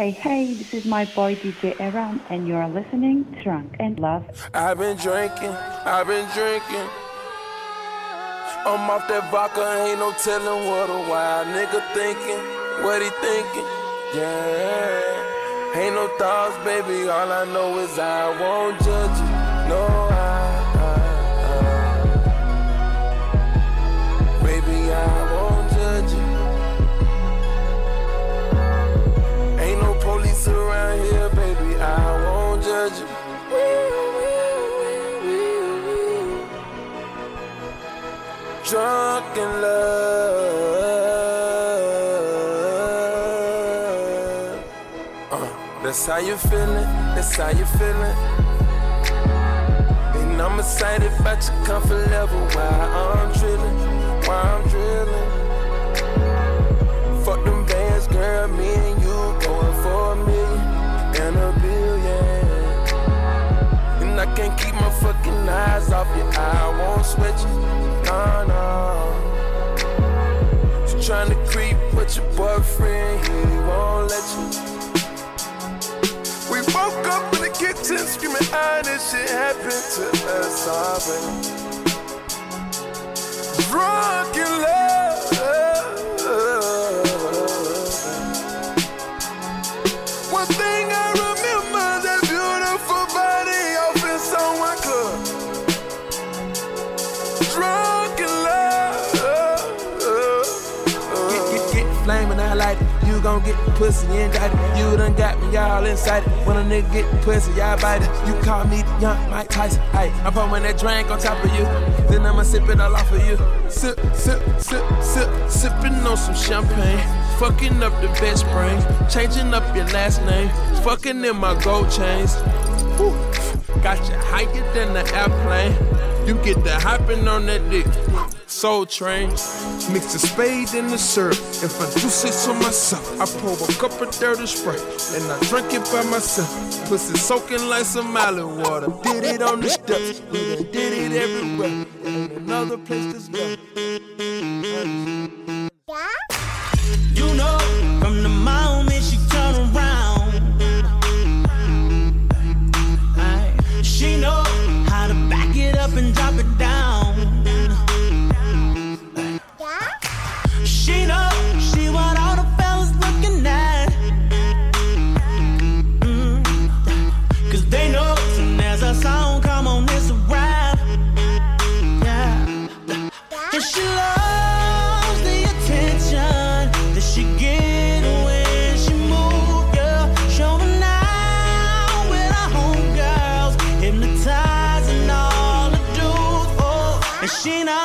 Hey, this is my boy DJ Aaron, and you're listening to Drunk and Love. I've been drinking. I'm off that vodka, ain't no telling what a wild nigga thinking. What he thinking? Yeah. Ain't no thoughts, baby, all I know is I won't judge you. No, baby, I won't judge you. Ain't no police around here, baby, I won't judge you. Drunk in love. That's how you feeling, that's how you feeling. And I'm excited about your comfort level while I'm drilling. Fuck them bands, girl, me and you going for $1 million and $1 billion. And I can't keep my fucking eyes off you, I won't sweat you. No. You tryna creep with your boyfriend, he won't let you. We woke up in the kitchen screaming, this shit happened to us already. Drunk in love. One thing I remember, that beautiful body off in someone club. Drunk in love. Get flaming, I like it. You gon' get pussy indicted. You done got me all inside it. When a nigga get pussy, y'all bite it. You call me the young Mike Tyson. Ayy, I'm pouring that drink on top of you. Then I'ma sip it all off of you. Sip, sipping on some champagne. Fucking up the best brain. Changing up your last name. Fucking in my gold chains. Woo. Got you higher than the airplane. You get the hopping on that dick. Soul Train. Mix the spade in the syrup. If I do say so myself, I pour a cup of dirty Sprite and I drink it by myself. Pussy soaking like some island water. Did it on the steps, we done did it everywhere. Ain't another place to go. You know, from the moment she turn around, she know how to back it up and drop it down. She know she want all the fellas looking at. Cause they know soon as a song come on, it's a rap. Yeah. And she loves the attention that she get when she move, yeah. Showing out with her homegirls, hypnotizing all the dudes, oh. And she knows.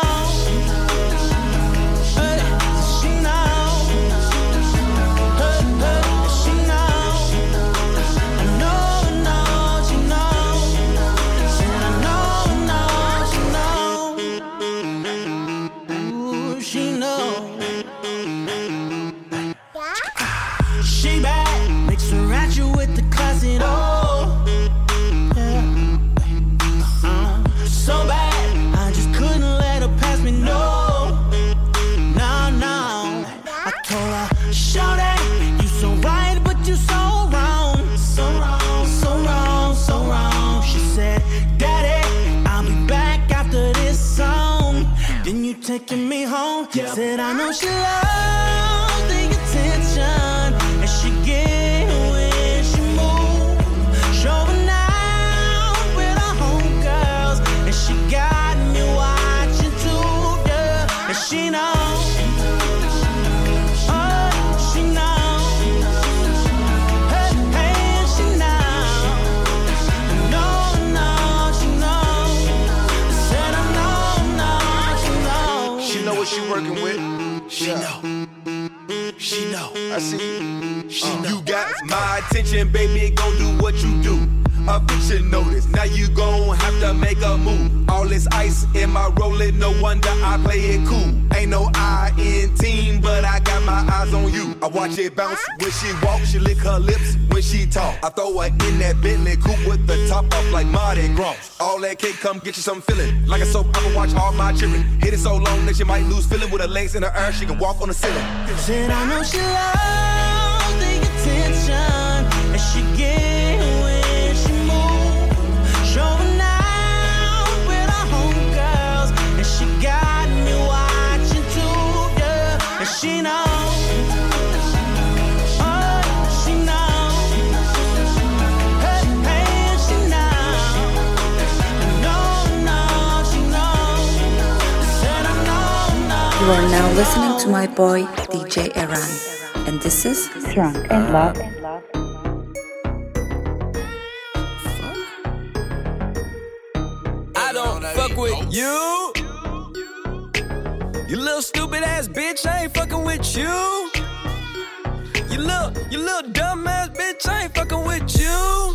Taking me home, yep. Said I know she loves the attention and she get when she move, showing out with her homegirls, and she got me watching too, yeah. And she knows. She working with, she know, I see, she know. You got my attention, baby, gon' do what you do. Eviction notice, now you gon' have to make a move. All this ice in my rollin', no wonder I play it cool. Ain't no I in team, but I got my eyes on you. I watch it bounce when she walk, she lick her lips when she talk. I throw her in that Bentley coupe with the top off like Mardi Gras. All that cake come get you some feeling. Like a soap opera, watch all my children. Hit it so long that you might lose feeling. With her legs in the air, she can walk on the ceiling. Said I know she loves the attention You are now listening to my boy DJ Eran, and this is Drunk and Love. I don't fuck with you. You little stupid ass bitch, I ain't fucking with you. You little dumb ass bitch, I ain't fucking with you.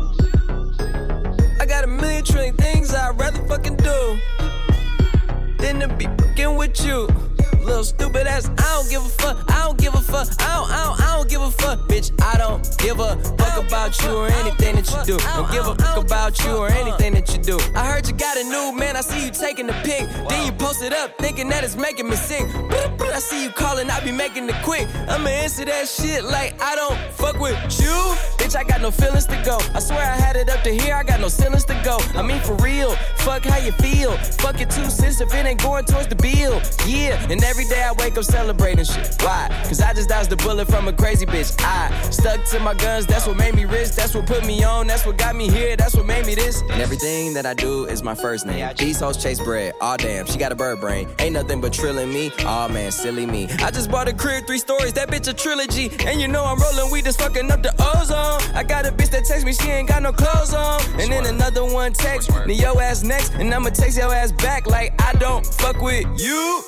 I got a million trillion things I'd rather fucking do than to be fucking with you. Little stupid ass, I don't give a fuck. I don't give a fuck. I don't give a fuck, bitch. I don't give a fuck about you or anything that you do. Don't give a fuck about you or anything that you do. I heard you got a new man. I see you taking the pic. Then you post it up, thinking that it's making me sick. I see you calling, I be making it quick. I'ma answer that shit like I don't fuck with you. Bitch, I got no feelings to go. I swear I had it up to here. I got no ceilings to go. I mean for real. Fuck how you feel. Fuck it 2 cents if it ain't going towards the bill. Yeah, and every day I wake up celebrating shit. Why? Cause I just dodged the bullet from a crazy bitch. I stuck to my guns, that's what made me rich. That's what put me on, that's what got me here. That's what made me this. And everything that I do is my first name. These hoes chase bread, aw damn, she got a bird brain. Ain't nothing but trilling me, aw man, silly me. I just bought a crib, 3 stories, that bitch a trilogy. And you know I'm rolling weed, just fucking up the ozone. I got a bitch that texts me, she ain't got no clothes on. And then another one text me, your ass next. And I'ma text your ass back like I don't fuck with you.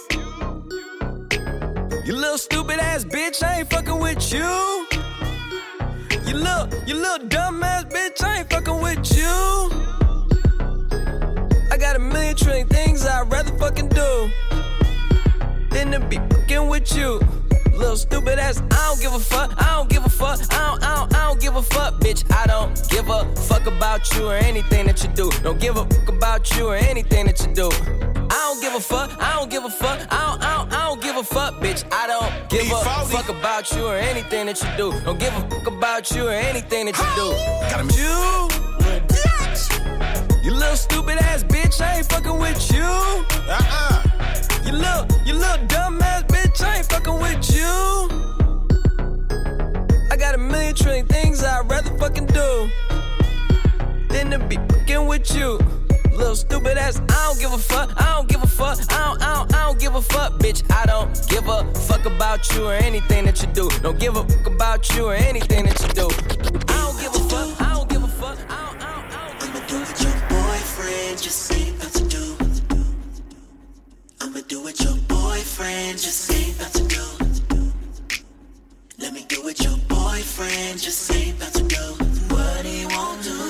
You little stupid ass bitch, I ain't fucking with you. You little dumb ass bitch, I ain't fucking with you. I got a million trillion things I'd rather fucking do than to be fucking with you. Little stupid ass, I don't give a fuck. I don't give a fuck. I don't give a fuck, bitch. I don't give a fuck about you or anything that you do. Don't give a fuck about you or anything that you do. I don't give a fuck. I don't give a fuck. I don't give a fuck, bitch. I don't give a fuck about you or anything that you do. Don't give a fuck about you or anything that you do. You little stupid ass bitch, I ain't fucking with you. You little dumb ass bitch, I ain't fucking with you. I got a million trillion things I'd rather fucking do than to be fucking with you. Little stupid ass, I don't give a fuck. I don't give a fuck. I don't give a fuck, bitch. I don't give a fuck about you or anything that you do. Don't give a fuck about you or anything that you do. I don't give a fuck. I don't give a fuck. I'ma do what your boyfriend just say about to do. I'ma do what your boyfriend just say about to do. Let me do what your boyfriend just say about to do. What he won't do.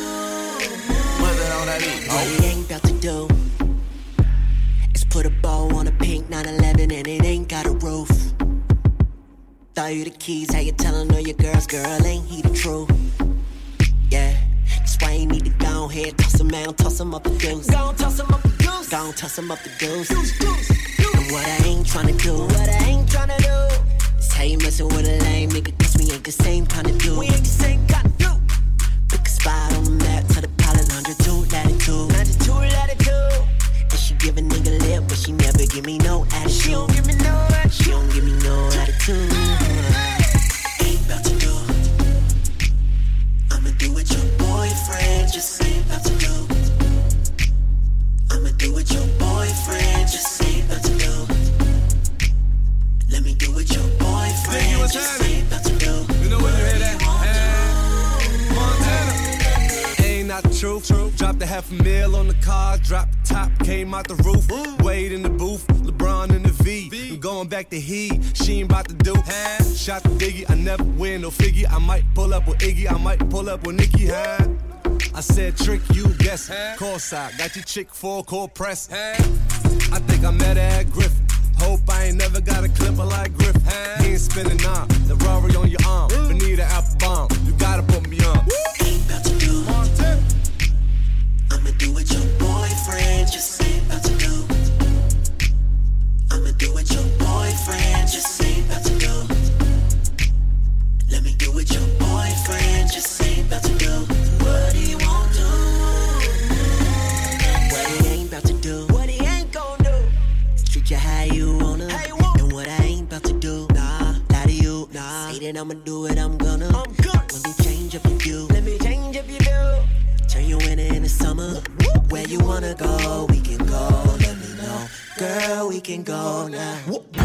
What he ain't about to do is put a bow on a pink 911 and it ain't got a roof. Throw you the keys, how you tellin' all your girls, girl, ain't he the truth? Yeah, that's why you need to go ahead, toss him out, toss him up the deuce. Go on, toss him up the deuce. Go on, toss him up the deuce. And what I ain't tryna do, is how you messin' with a lame nigga, cause we ain't the same kinda dude. We ain't the same kinda dude. Pick a spot on the map, to the pilot 102 latitude. 92 latitude. And she give a nigga lip, but she never give me no attitude. She don't give me no attitude. She don't give me no attitude. Ain't about to do. I'ma do what your boyfriend just say about to do. I'ma do what your boyfriend just say about to do. Let me do what your boyfriend just say about to do. You know when you hear that? Montana. Ain't not the truth. Dropped $500,000 on the car, dropped the top, came out the roof. Wade in the booth, LeBron in the V. I'm going back to he, she ain't about to do. Shot the Biggie, I never win no figure. I might pull up with Iggy, I might pull up with Nicki. I said trick, you guess. Call side, got your chick full cold press. I think I met her at Griffin. Hope I ain't never got a clipper like Griffin. He ain't spinning on the Rory on your arm. Benita Applebomb, you gotta put me on. Ain't about to do. I'ma do what your boyfriend just say about to do. I'ma do what your boyfriend just say about to do. Let me do what your boyfriend just say about to do. What he won't do. What he ain't about to do. What he ain't gon' do. Treat you how you wanna. And what I ain't about to do. Nah, lie to you. Nah, say that I'ma do it, I'm gonna. Let me change up your view. Let me change up your view. Turn your winter into summer. Where you wanna go, we can go. Let me know. girl, we can go now.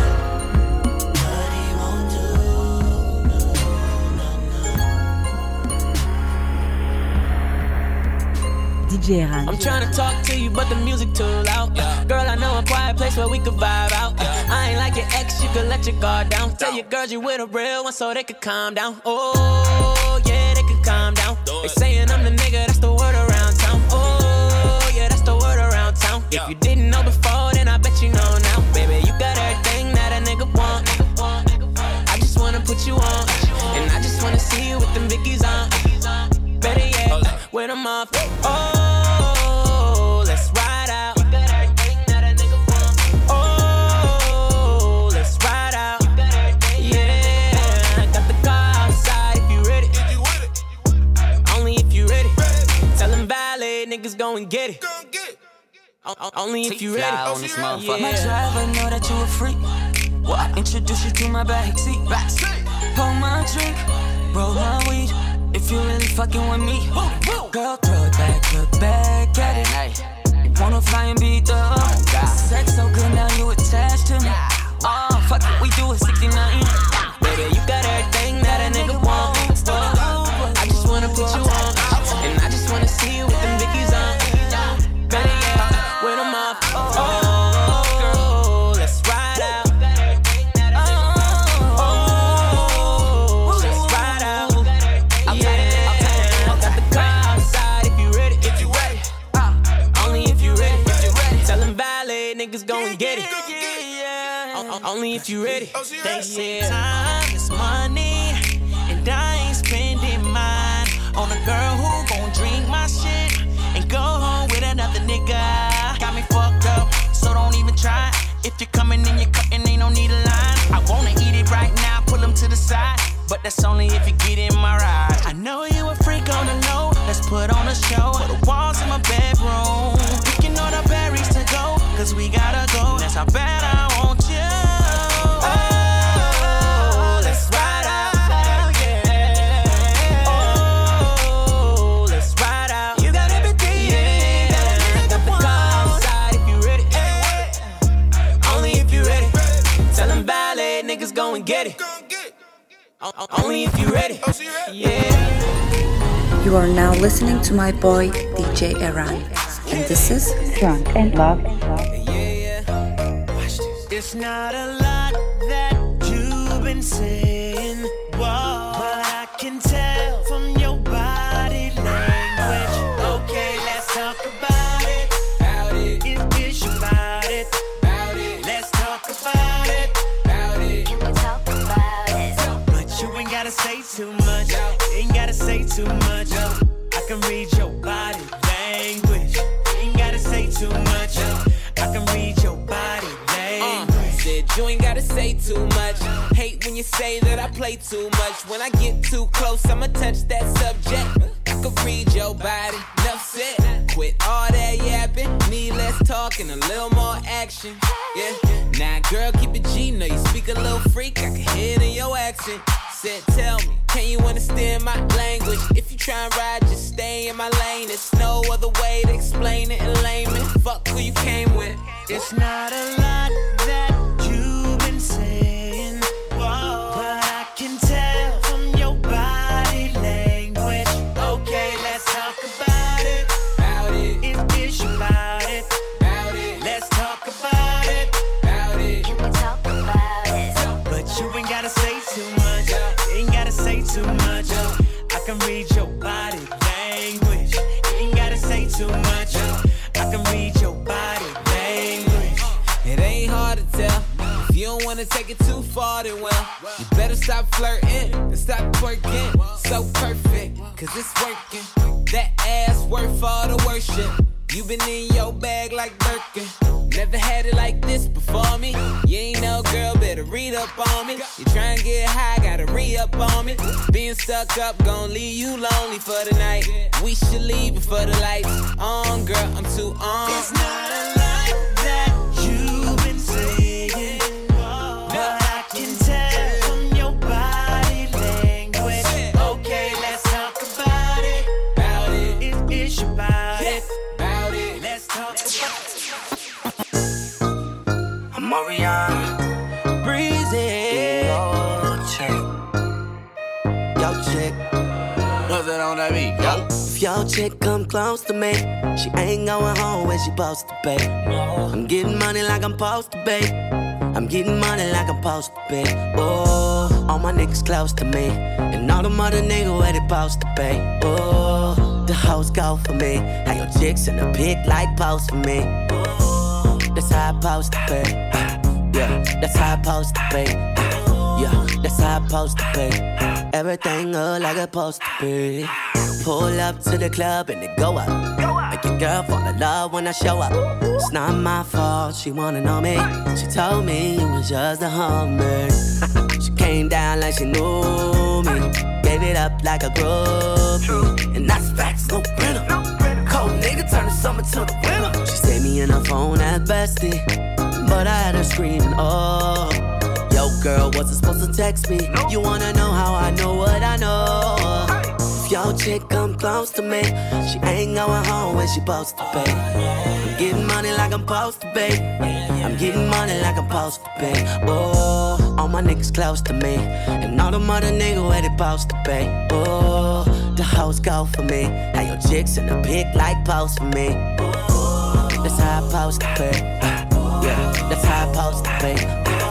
DJ Eran. I'm trying to talk to you, but the music too loud. Girl, I know a quiet place where we could vibe out. I ain't like your ex, you could let your guard down. Tell your girls you with a real one so they could calm down. Oh, yeah, they could calm down. They saying I'm the nigga, that's the word around town. Oh, yeah, that's the word around town. If you didn't know before, then I bet you know now. Baby, you got everything that a nigga want. I just wanna put you on, and I just wanna see you with them Vickies on. Better yet, with them off. Oh, let's ride out. You got everything that a nigga want. Oh, let's ride out. Yeah, I got the car outside if you ready. Only if you ready. Tell them valet niggas go and get it. Only if you ready. Yeah. My driver know that you a freak. Well, I introduce you to my backseat. Pour my drink, roll my weed. If you really fucking with me, girl, throw it back, look back at it. You wanna fly and beat the sex so good now you attached to me. Oh, fuck it, we do it 69. Baby, you got everything that a nigga want. I just wanna put you on, and I just wanna see you with them Vickies on. Better yet, with them off. Oh, let's ride out. Niggas gon' get it. Only if you ready. They say time is money, and I ain't spending mine on a girl who gon' drink my shit and go home with another nigga. Got me fucked up, so don't even try. If you're coming and you're cutting, ain't no need a line. I wanna eat it right now, pull them to the side, but that's only if you get in my ride. I know you a freak on the low, let's put on a show. Put the walls in my bedroom, picking all the berries to go, cause we gotta go, that's how bad I want you. Oh, let's ride out. Yeah. Oh, let's ride out. You got everything, yeah. Got the car outside if you ready. Only if you ready. Tell them valet niggas go and get it. Only if you ready. Yeah. You are now listening to my boy DJ Eran, and this is Drunk and Love. It's not a lot that you've been saying, whoa, but I can tell from your body language. Okay, let's talk about it. If it's about it. Let's talk about it. Can we talk about it? But you ain't gotta say too much. Ain't gotta say too much. I can read your body language. Ain't gotta say too much. I can read your body language. You ain't gotta say too much. Hate when you say that I play too much. When I get too close, I'ma touch that subject. I could read your body, enough said. Quit all that yapping, need less talk and a little more action. Yeah, now girl, keep it G, know you speak a little freak, I can hear it in your accent. Said, tell me, can you understand my language? If you try and ride, just stay in my lane. There's no other way to explain it in layman. Fuck who you came with. It's not a lot that you've been saying, whoa, but I can tell from your body language. Okay, let's talk about it. If it's about it. Let's talk about it. Can we talk about it? But you ain't gotta say too much. Ain't gotta say too much. I can read your body language. Ain't gotta say too much. I can read your body language. It ain't hard to tell. If you don't wanna take it too far, then well, you better stop flirting and stop twerking. So perfect, cause it's working. That ass worth all the worship. You been in your bag like Birkin. Never had it like this before me. You ain't no girl, better read up on me. You tryna get high, gotta re-up on me. Being stuck up, gon' leave you lonely for the night. We should leave before the lights on, girl, I'm too on. It's not a lot that you've been saying, but I can tell from your body language. Okay, let's talk about it. If it's about it. Let's talk about it. What's that on that beat? Yo. If your chick come close to me, she ain't going home when she supposed to pay. I'm getting money like I'm supposed to pay. I'm getting money like I'm supposed to pay. Oh, all my niggas close to me, and all the mother niggas where they supposed to pay. Oh, the hoes go for me. How your chicks in the pic like post for me. Oh, that's how I supposed to pay. Yeah, that's how I supposed to pay. Yeah, that's how I supposed to pay. Everything look like it's supposed to be. Pull up to the club and it go up. Make your girl fall in love when I show up. It's not my fault, she wanna know me. She told me you was just a hummer. She came down like she knew me. Gave it up like a groupie. And that's facts, no printer. Cold nigga turn the summer to the winter. She saved me in her phone at bestie, but I had her screaming, oh. Yo, girl, wasn't supposed to text me. You wanna know how I know what I know? If your chick come close to me, she ain't going home when she supposed to pay. I'm getting money like I'm supposed to pay. I'm getting money like I'm supposed to pay. Oh, all my niggas close to me, and all the mother niggas where they supposed to pay. Oh, the hoes go for me. How your chicks in the pic like post for me. Oh, that's how I supposed to pay. Yeah, that's how I supposed to pay.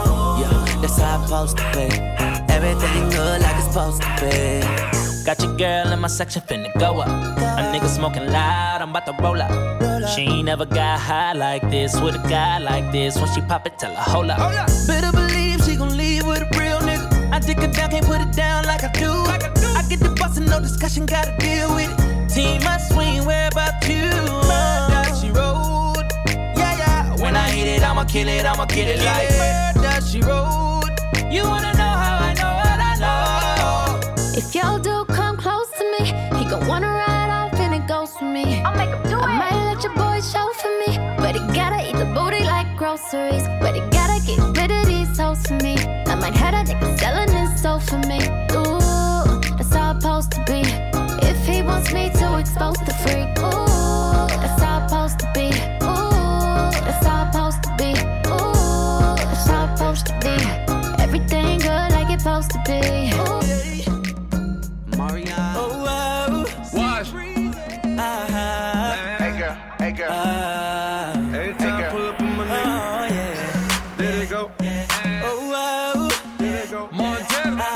That's how I'm supposed to pay. Everything good like it's supposed to be. Got your girl in my section finna go up. A nigga smoking loud, I'm about to roll up. She ain't never got high like this with a guy like this. When she pop it, tell her hold up. Better believe she gon' leave with a real nigga. I dick her down, can't put it down like I do. I get the bus and no discussion, gotta deal with it. Team must swing, where about you? Murder, she rode. Yeah. When I hit it, I'ma kill it, I'ma get it like murder, she rode. You wanna know how I know what I know? If your dude come close to me, he gon' wanna ride off and it goes for me. I'll make him do it. I might let your boy show for me, but he gotta eat the booty like groceries. But he gotta get rid of these hoes for me. I might have a nigga selling his soul for me. Ooh, that's how it's supposed to be. If he wants me to expose the freak, ooh, that's how it's supposed to be. Ooh, that's how it's supposed to be. Ooh, that's how it's supposed to be. Everything good like it's supposed to be. Mario. Watch. Hey girl. Every time I pull up in my nigga. There they go. There they go. Montana.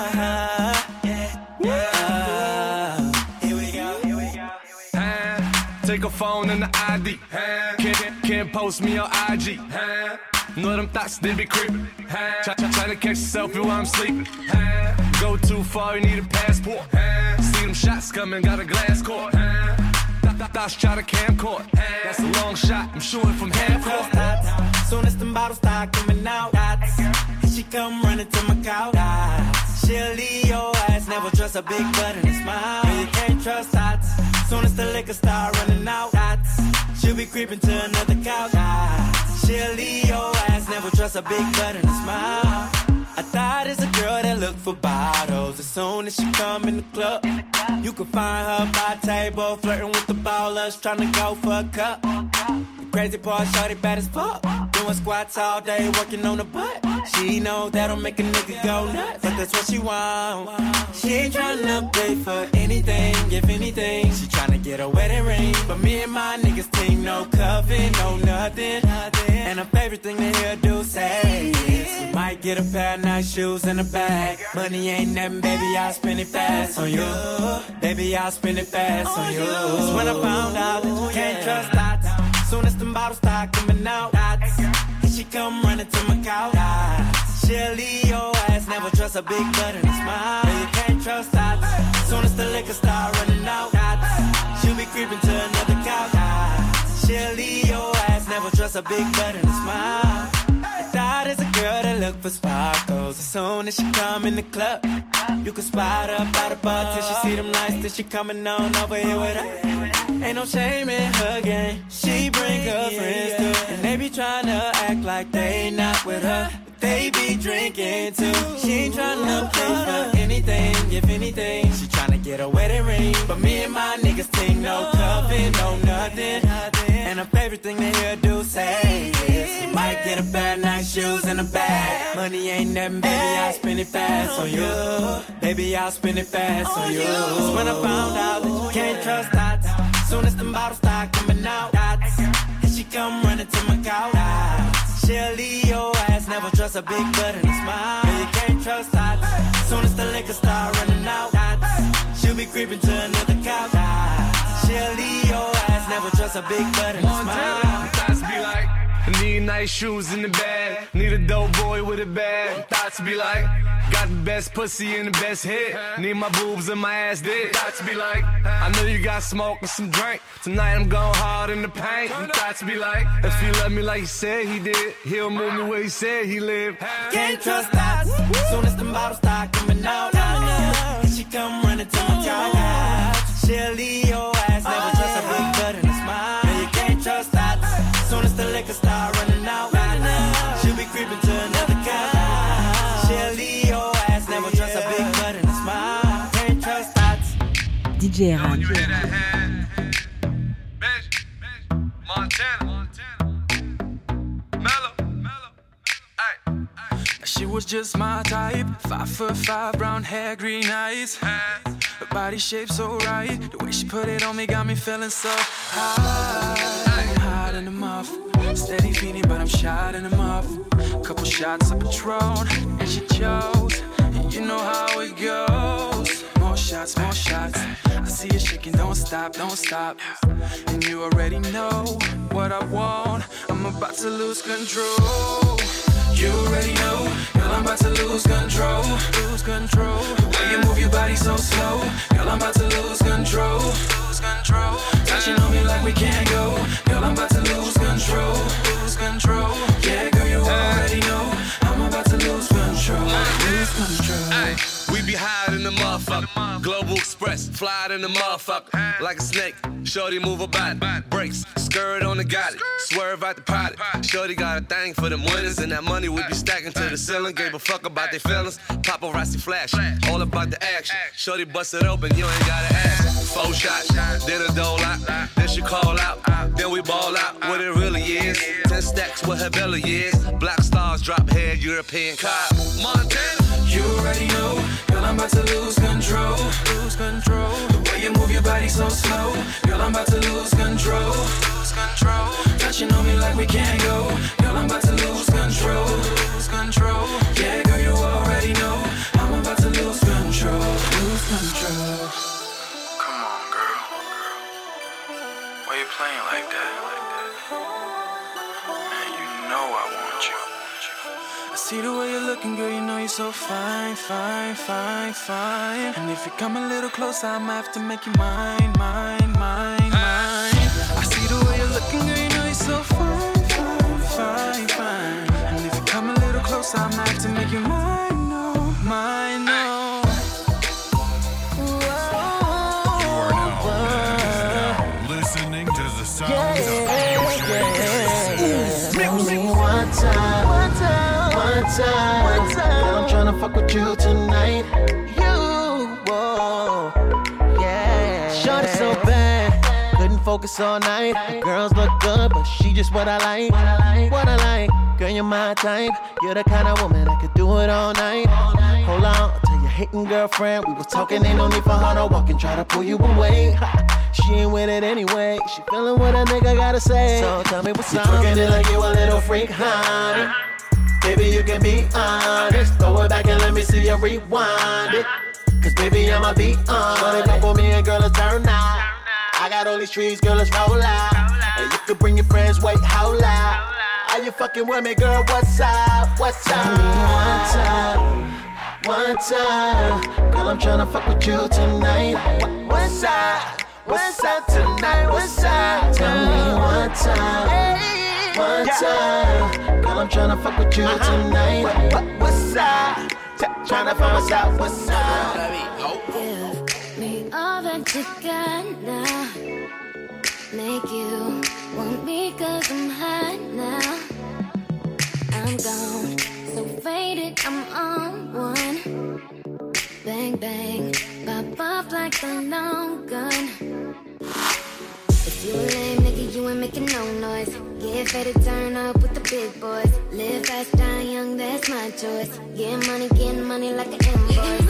Here we go. Take a phone and the ID. Can't post me on IG. Know them thoughts, they be creepin'. Try to catch yourself while I'm sleeping. Go too far, you need a passport. See them shots coming, got a glass court. Thoughts try to camcord. That's a long shot, I'm shooting from half court. Soon as them bottles start coming out, she come running to my couch. She'll leave your ass, never trust a big butt and a smile. You can't trust that. Soon as the liquor start running out, she'll be creeping to another couch. She'll leave your ass, never trust a big butt and a smile. I thought it's a girl that look for bottles. As soon as she come in the club, you can find her by a table, flirting with the ballers, trying to go for a cup. The crazy part, shorty bad as fuck, doing squats all day, working on the butt. She know that'll make a nigga go nuts, but that's what she want. She ain't tryna pay for anything, if anything. She tryna get a wedding ring, but me and my niggas team, no cuffing, no nothing. And her favorite thing to hear do say is, we might get a pair of nice shoes and a bag. Money ain't nothing, baby, I'll spend it fast on you. Baby, I'll spend it fast on you. That's when I found out that you can't trust that. Soon as them bottles start coming out, and she come running to my couch. She'll leave your ass, never trust a big butt and a smile. You can't trust that. Soon as the liquor start running out, she'll be creeping to another couch. She'll leave your ass, never trust a big butt and a smile. I thought it's a girl that look for sparkles. As soon as she come in the club, you can spot her by the bar till she see them lights, till she coming on over here with her. Ain't no shame in her game. She bring her friends too, and they be tryna act like they not with her, but they be drinking too. She ain't tryna pay for anything, if anything. She tryna get a wedding ring, but me and my niggas think no cuffing, no nothing. And her favorite thing to hear do say is, you might get a pair of nice shoes and the bag. Money ain't nothing, baby, I'll spend it fast on you. Baby, I'll spend it fast on you. Cause when I found out that you can't trust dots, soon as the bottles start coming out, dots, and she come running to my couch. She'll leave your ass, never trust a big butt and a smile. Yeah, you can't trust dots, soon as the liquor start running out, dots, she'll be creeping to another couch. She'll leave your ass, never trust a big butt and a smile. Thoughts be like, I need nice shoes in the bag. Need a dope boy with a bag. Thoughts be like, got the best pussy and the best head. Need my boobs and my ass dead. Thoughts be like, I know you got smoke and some drink. Tonight I'm going hard in the paint. Thoughts be like, if he love me like he said he did, he'll move me where he said he lived. Can't trust dots, soon as the bottles start coming out, and she come running to my couch. She'll leave your ass, never trust a big butt and a smile. Yeah, you can't trust dots, soon as the liquor start running out, she'll be creeping to another couch. She'll leave your ass, never trust a big butt and a smile. Can't trust dots. DJ Eran. Montana. Mellow. She was just my type, 5'5", brown hair, green eyes. Her body shape so right, the way she put it on me got me feeling so high. I'm hot in the muff, steady feeling but I'm shot in the muff. Couple shots of Patron, and she chose, and you know how it goes. More shots, I see you shaking, don't stop. And you already know what I want, I'm about to lose control. You already know, girl, I'm about to lose control. The way you move your body so slow, girl, I'm about to lose control. Touching on me like we can't go, girl, I'm about to lose control. Yeah, girl, you already know, I'm about to lose control. Ay, we be higher than the motherfucker. Global Express, fly than the motherfucker. Like a snake, shorty move her body. Brakes, skirt on the got it. Swerve out the potty. Shorty got a thing for them winners, and that money we be stacking to the ceiling. Gave a fuck about their feelings. Paparazzi flash, all about the action. Shorty bust it open, you ain't gotta ask. 4 shots, then a dole out, then she call out, then we ball out. What it really is, 10 stacks with her belly is. Black stars drop head, European car. Montana. You already know, girl, I'm about to lose control. The way you move your body so slow, girl, I'm about to lose control. Touching on me like we can't go, girl, I'm about to lose control. Yeah, girl, you already know, I'm about to lose control. Come on, girl. Why you playing like that? Man, you know I want you. I see the way you're looking, girl, you know you're so fine. And if you come a little closer, I'ma have to make you mine. I see the way you're looking, girl, you know you're so fine. And if you come a little closer, I'ma have to make you mine, no. You are now listening to the sounds of Tell me one time. Girl, I'm tryna fuck with you tonight. Shorty so bad, couldn't focus all night. The girls look good, but she just what I like. Girl, you're my type. You're the kind of woman that could do it all night. Hold on, tell your hating girlfriend we was talking. Ain't no need for her to walk and try to pull you away. She ain't with it anyway. She feeling what a nigga gotta say. So tell me what's up. You twerking it like you a little freak, honey. Baby, you can be honest. Throw it back and let me see you rewind it. Cause baby, I'ma be on. Shorty come for me and girl, let's turn out. I got all these trees, girl, let's roll out. And you can bring your friends, wait, how loud? Are you fucking with me, girl? What's up? Tell me one time. Girl, I'm tryna fuck with you tonight. What's up tonight? What's up? Tell me one time. Girl, I'm tryna fuck with you tonight. What's up? Tryna find what's up. What's up? Give me all that you got now. Make you want me cause I'm hot now. I'm gone, so faded, I'm on one. Bang, bang, pop off like a long gun. If you a lame nigga, you ain't making no noise. Get ready to turn up with the big boys. Live fast, die young, that's my choice. Getting money like an invoice.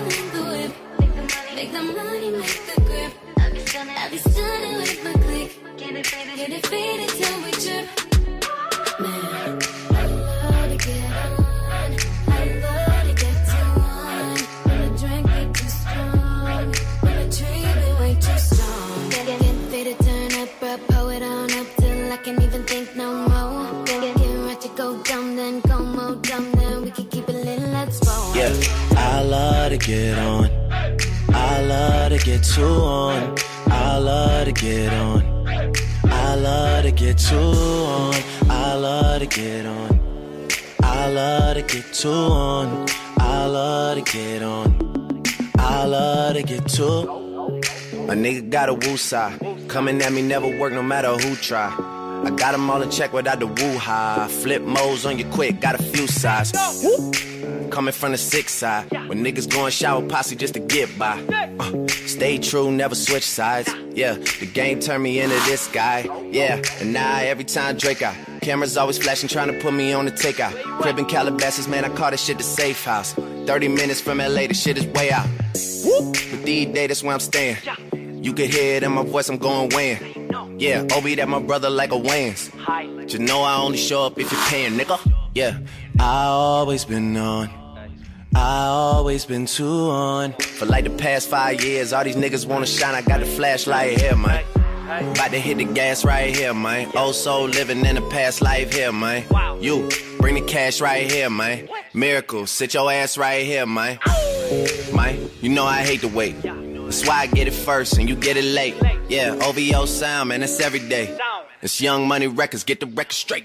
Make the money, make the grip. I'll be stunning with my click. Get it faded till we trip. Man, I love to get on. I love to get too on. When the drink get too strong, when the tree be way too strong. Get faded, turn up, pull it on up till I can't even think no more. Get right to go dumb, then go more dumb, then we can keep it lit, let's roll. Yeah, I love to get on. I love to get too on. I love to get on. I love to get too on. I love to get on. I love to get too on. I love to get on. I love to get too. A nigga got a woo side. Coming at me never work no matter who try. I got them all in check without the woo-ha. Flip modes on you quick, got a few sides. Coming from the 6 side. When niggas going shower posse just to get by. Stay true, never switch sides. Yeah, the game turned me into this guy. Yeah, and now every time Drake out. Cameras always flashing, trying to put me on the takeout. Crib in Calabasas, man, I call this shit the safe house. 30 minutes from LA, the shit is way out. But these days, that's where I'm staying. You can hear it in my voice, I'm going weighing. Yeah, Obi, that my brother like a Wayans. But you know I only show up if you're paying, nigga. Yeah, I always been on. I always been too on. For like the past 5 years, all these niggas wanna shine. I got the flashlight here, man. About to hit the gas right here, man. Old soul living in the past life here, man. You, bring the cash right here, man. Miracle, sit your ass right here, man. Man, you know I hate to wait. That's why I get it first and you get it late. Yeah, OVO sound, man, that's every day. It's Young Money Records, get the record straight.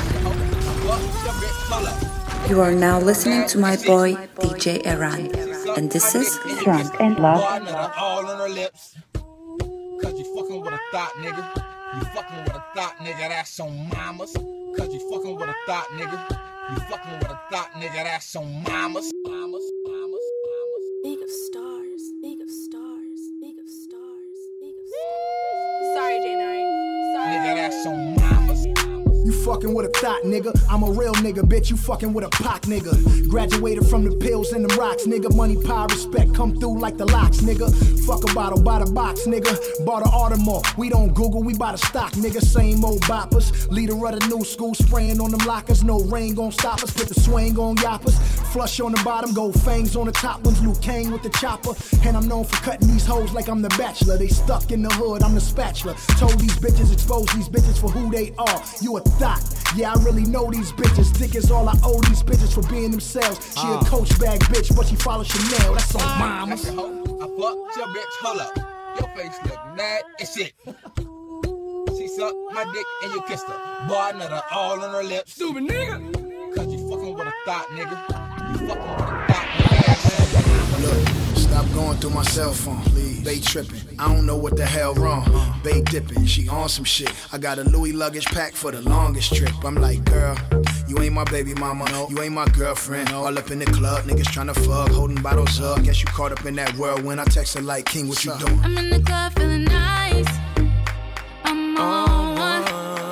You are now listening to my boy DJ Eran, and this is Drunk and Love. All on her lips. Cause you fucking with a thought, nigga. You fucking with a thought, nigga, that's on mamas. Cause you fucking with a thought, nigga. You fucking with a thought, nigga, that's on mamas. Think of stars, think of stars, think of stars, think of stars. Sorry, J9. Sorry. Nigga, that's on mamas. You fucking with a thought, nigga. I'm a real nigga, bitch. You fucking with a Pac, nigga. Graduated from the pills and them rocks, nigga. Money, power, respect come through like the locks, nigga. Fuck a bottle, buy the box, nigga. Bought an Audemars. We don't Google, we buy the stock, nigga. Same old boppers. Leader of the new school, spraying on them lockers. No rain gon' stop us. Put the swing on yoppers. Flush on the bottom, gold fangs on the top ones. Luke Kang with the chopper. And I'm known for cutting these hoes like I'm the bachelor. They stuck in the hood, I'm the spatula. Told these bitches, expose these bitches for who they are. You a thought. Yeah, I really know these bitches. Dick is all I owe these bitches for being themselves. She a coach bag bitch, but she follow Chanel. That's on mama. I fucked your bitch, hold up. Your face look mad as shit. She sucked my dick and you kissed her. Boy, nut all on her lips. Stupid nigga. Cause you fucking with a thought, nigga. You fucking with a thought, nigga. Look, stop going through my cell phone, please. They tripping, I don't know what the hell wrong. They dipping, she on some shit. I got a Louis luggage pack for the longest trip. I'm like, girl, you ain't my baby mama, you ain't my girlfriend. All up in the club, niggas tryna fuck, holding bottles up. Guess you caught up in that world when I text her like, King, what you doing? I'm in the club feeling nice. I'm on one.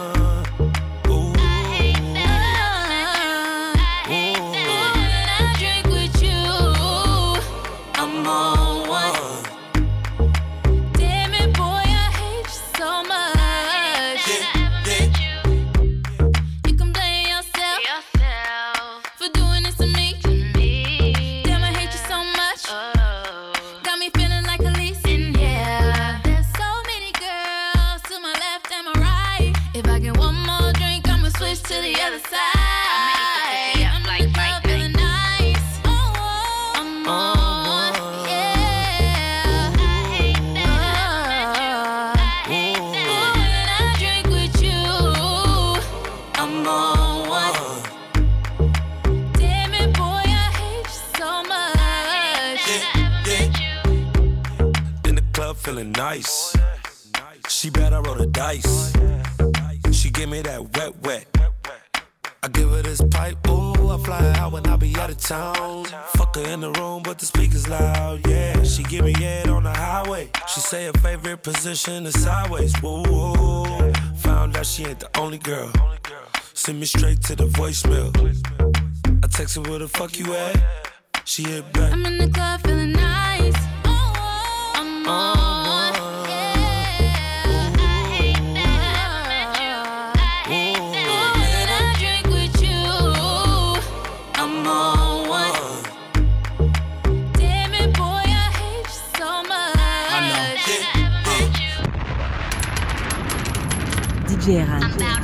To the other side. I'm like feeling nice. I'm on, yeah. When I drink with you, I'm on one. Damn it, boy, I hate you so much. In the club feeling nice. She bet I roll the dice. She give me that wet. I give her this pipe, ooh, I fly out when I be out of town. Fuck her in the room, but the speaker's loud, yeah. She give me head on the highway. She say her favorite position is sideways, woo, woo. found out she ain't the only girl. Send me straight to the voicemail. I text her, where the fuck you at? She hit back. I'm in the club feeling nice. I'm on. DJ Eran.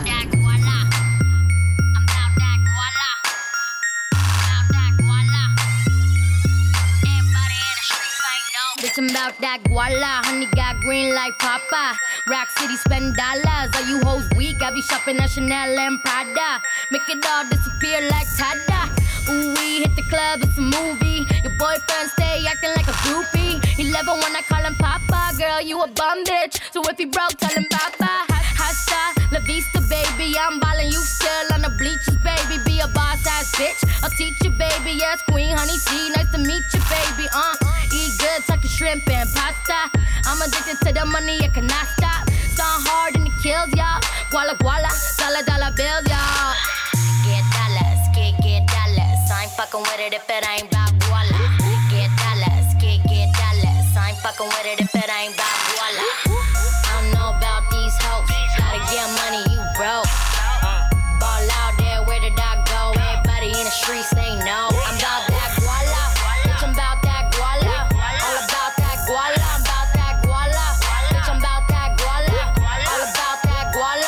Bitch, I'm about that guala. Honey got green like Papa. Rock City spend dollars. Are you hoes weak? I be shopping at Chanel and Prada. Make it all disappear like Tada. Ooh, we hit the club, it's a movie. Your boyfriend stay acting like a groupie. He love it when I call him Papa. Girl, you a bum bitch. So if he broke, tell him Papa. Hasta la vista, baby. I'm ballin', you still on the bleachers, baby. Be a boss ass bitch. I'll teach you, baby. Yes, Queen Honey C. Nice to meet you, baby. Eat good, tuck your shrimp and pasta. I'm addicted to the money, I cannot stop. Start hard and it kills y'all. Guala guala, dollar bills, y'all. Get dollars, get dollars. I ain't fucking with it if it ain't about guala. Get dollars, get dollars. I ain't fucking with it if it ain't about guala. I don't know about these hoes. Gotta get money, you broke. Ball out there, where did I go? Everybody in the streets, they know. I'm about that guala. Bitch, I'm about that guala. All about that guala. I'm about that guala. Bitch, I'm about that guala. All about that guala.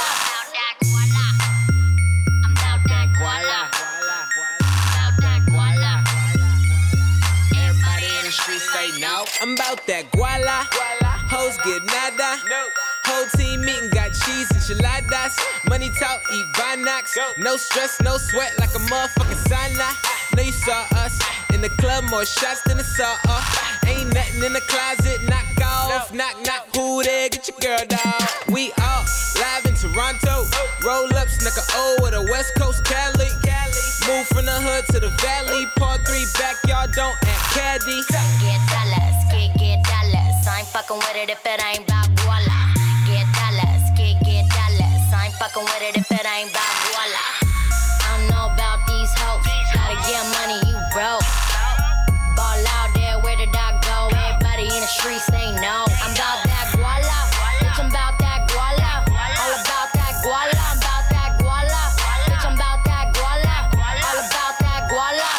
I'm about that guala. About that guala. Everybody in the streets, they know. I'm about that guala. Hoes get nada. Whole team meeting, got cheese, enchiladas. Money talk, eat Vinox. No stress, no sweat, like a motherfucking sauna. Know you saw us in the club, more shots than a saw off. Ain't nothing in the closet, knock off. Knock, knock, who there? Get your girl, dog. We all live in Toronto. Roll up, snuck a O with a West Coast Cali. Move from the hood to the valley. Part 3 backyard, don't act caddy. Get dollars, get dollars. I ain't fucking with it if it ain't about guala. Get dollars, get dollars. I ain't fucking with it if it ain't about guala. I don't know about these hoes. Gotta get money, you broke. Ball out there, where did I go? Everybody in the streets, they know. I'm about that guala. Bitch, I'm about that guala. All about that guala. I'm about that guala. Bitch, I'm about that guala. All about that guala.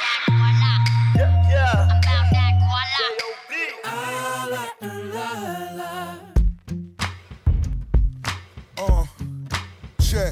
Yeah. I'm about that guala. Check.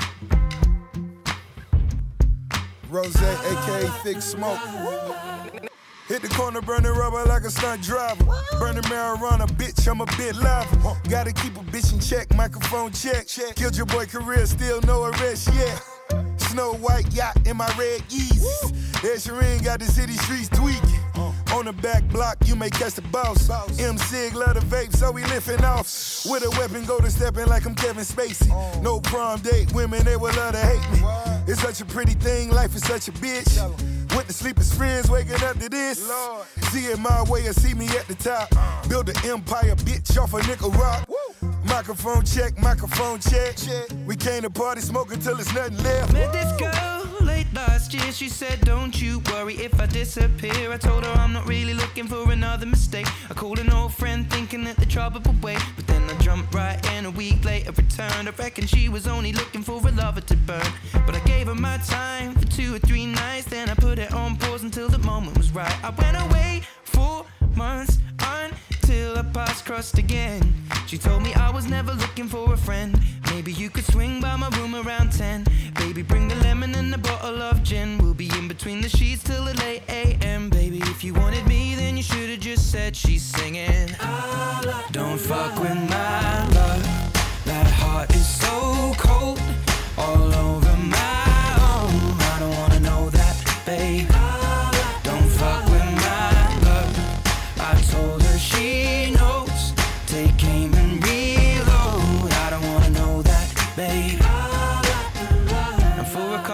Rose, aka Thick Smoke. Hit the corner, burning rubber like a stunt driver. Burning marijuana, bitch, I'm a bit live. Gotta keep a bitch in check, microphone check. Killed your boy career, still no arrest yet. Snow White yacht in my red Yeezys. Ed Sheeran got the city streets tweaking. On the back block, you may catch the boss. M-Sig love the vape, so we lifting off. With a weapon, go to stepping like I'm Kevin Spacey. No prom date, women, they would love to hate me. It's such a pretty thing, life is such a bitch. Went to sleep as friends, waking up to this. See it my way or see me at the top. Build an empire, bitch, off a nickel rock. Microphone check, microphone check. We came to party, smoke until there's nothing left. Met this girl late last year. She said, don't you worry if I disappear. I told her I'm not really looking for another mistake. I called an old friend thinking that the trouble would wait, but then I jumped right in. A week later returned. I reckon she was only looking for a lover to burn, but I gave her my time for 2 or 3 nights. Then I put it on pause until the moment was right. I went away 4 months until our paths crossed again. She told me I was never looking for a friend. Maybe you could swing by my room around 10. Baby, bring the lemon and a bottle of gin. We'll be in between the sheets till the late AM. Baby, if you wanted me, then you should've just said she's singing. Don't fuck with my love. That heart is so cold, all over my own. I don't wanna know that, babe. Don't fuck with my love. I told her she knows. Take aim and reload. I don't wanna know that, babe. And for a couple weeks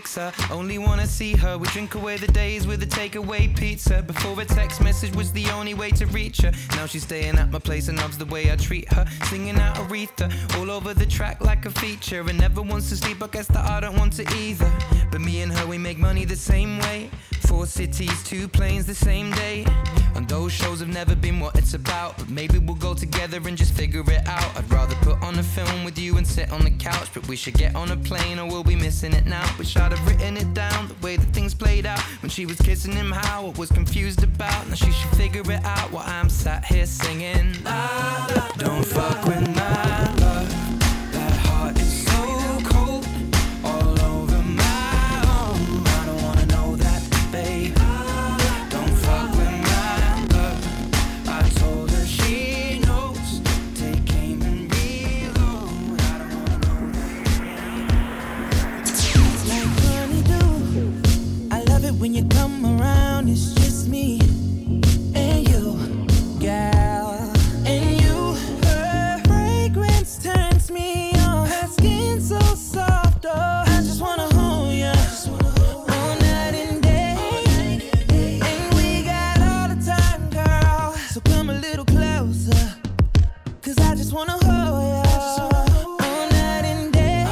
fix her. Only wanna see her. We drink away the days with a takeaway pizza. Before a text message was the only way to reach her. Now she's staying at my place and loves the way I treat her. Singing out Aretha all over the track like a feature. And never wants to sleep, I guess that I don't want to either. But me and her, we make money the same way. 4 cities, 2 planes the same day. And those shows have never been what it's about. But maybe we'll go together and just figure it out. I'd rather put on a film with you and sit on the couch. But we should get on a plane or we'll be missing it now. Wish I'd have written it down, the way that things played out. When she was kissing him, how I was confused about. Now she should figure it out while I'm sat here singing. Don't fuck with my love. That heart is so cold. All over my arm. I don't wanna know that, babe. Don't fuck with my love. I told her she knows. Take aim and reload. I don't wanna know that. Like honeydew, I love it when you come around. It's just me and you, girl. And you, her fragrance turns me on. Her skin so soft, oh, I just wanna hold ya all night and day. And we got all the time, girl. So come a little closer, 'cause I just wanna hold ya all night and day.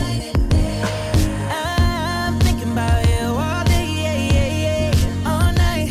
I'm thinking about you all day, all night.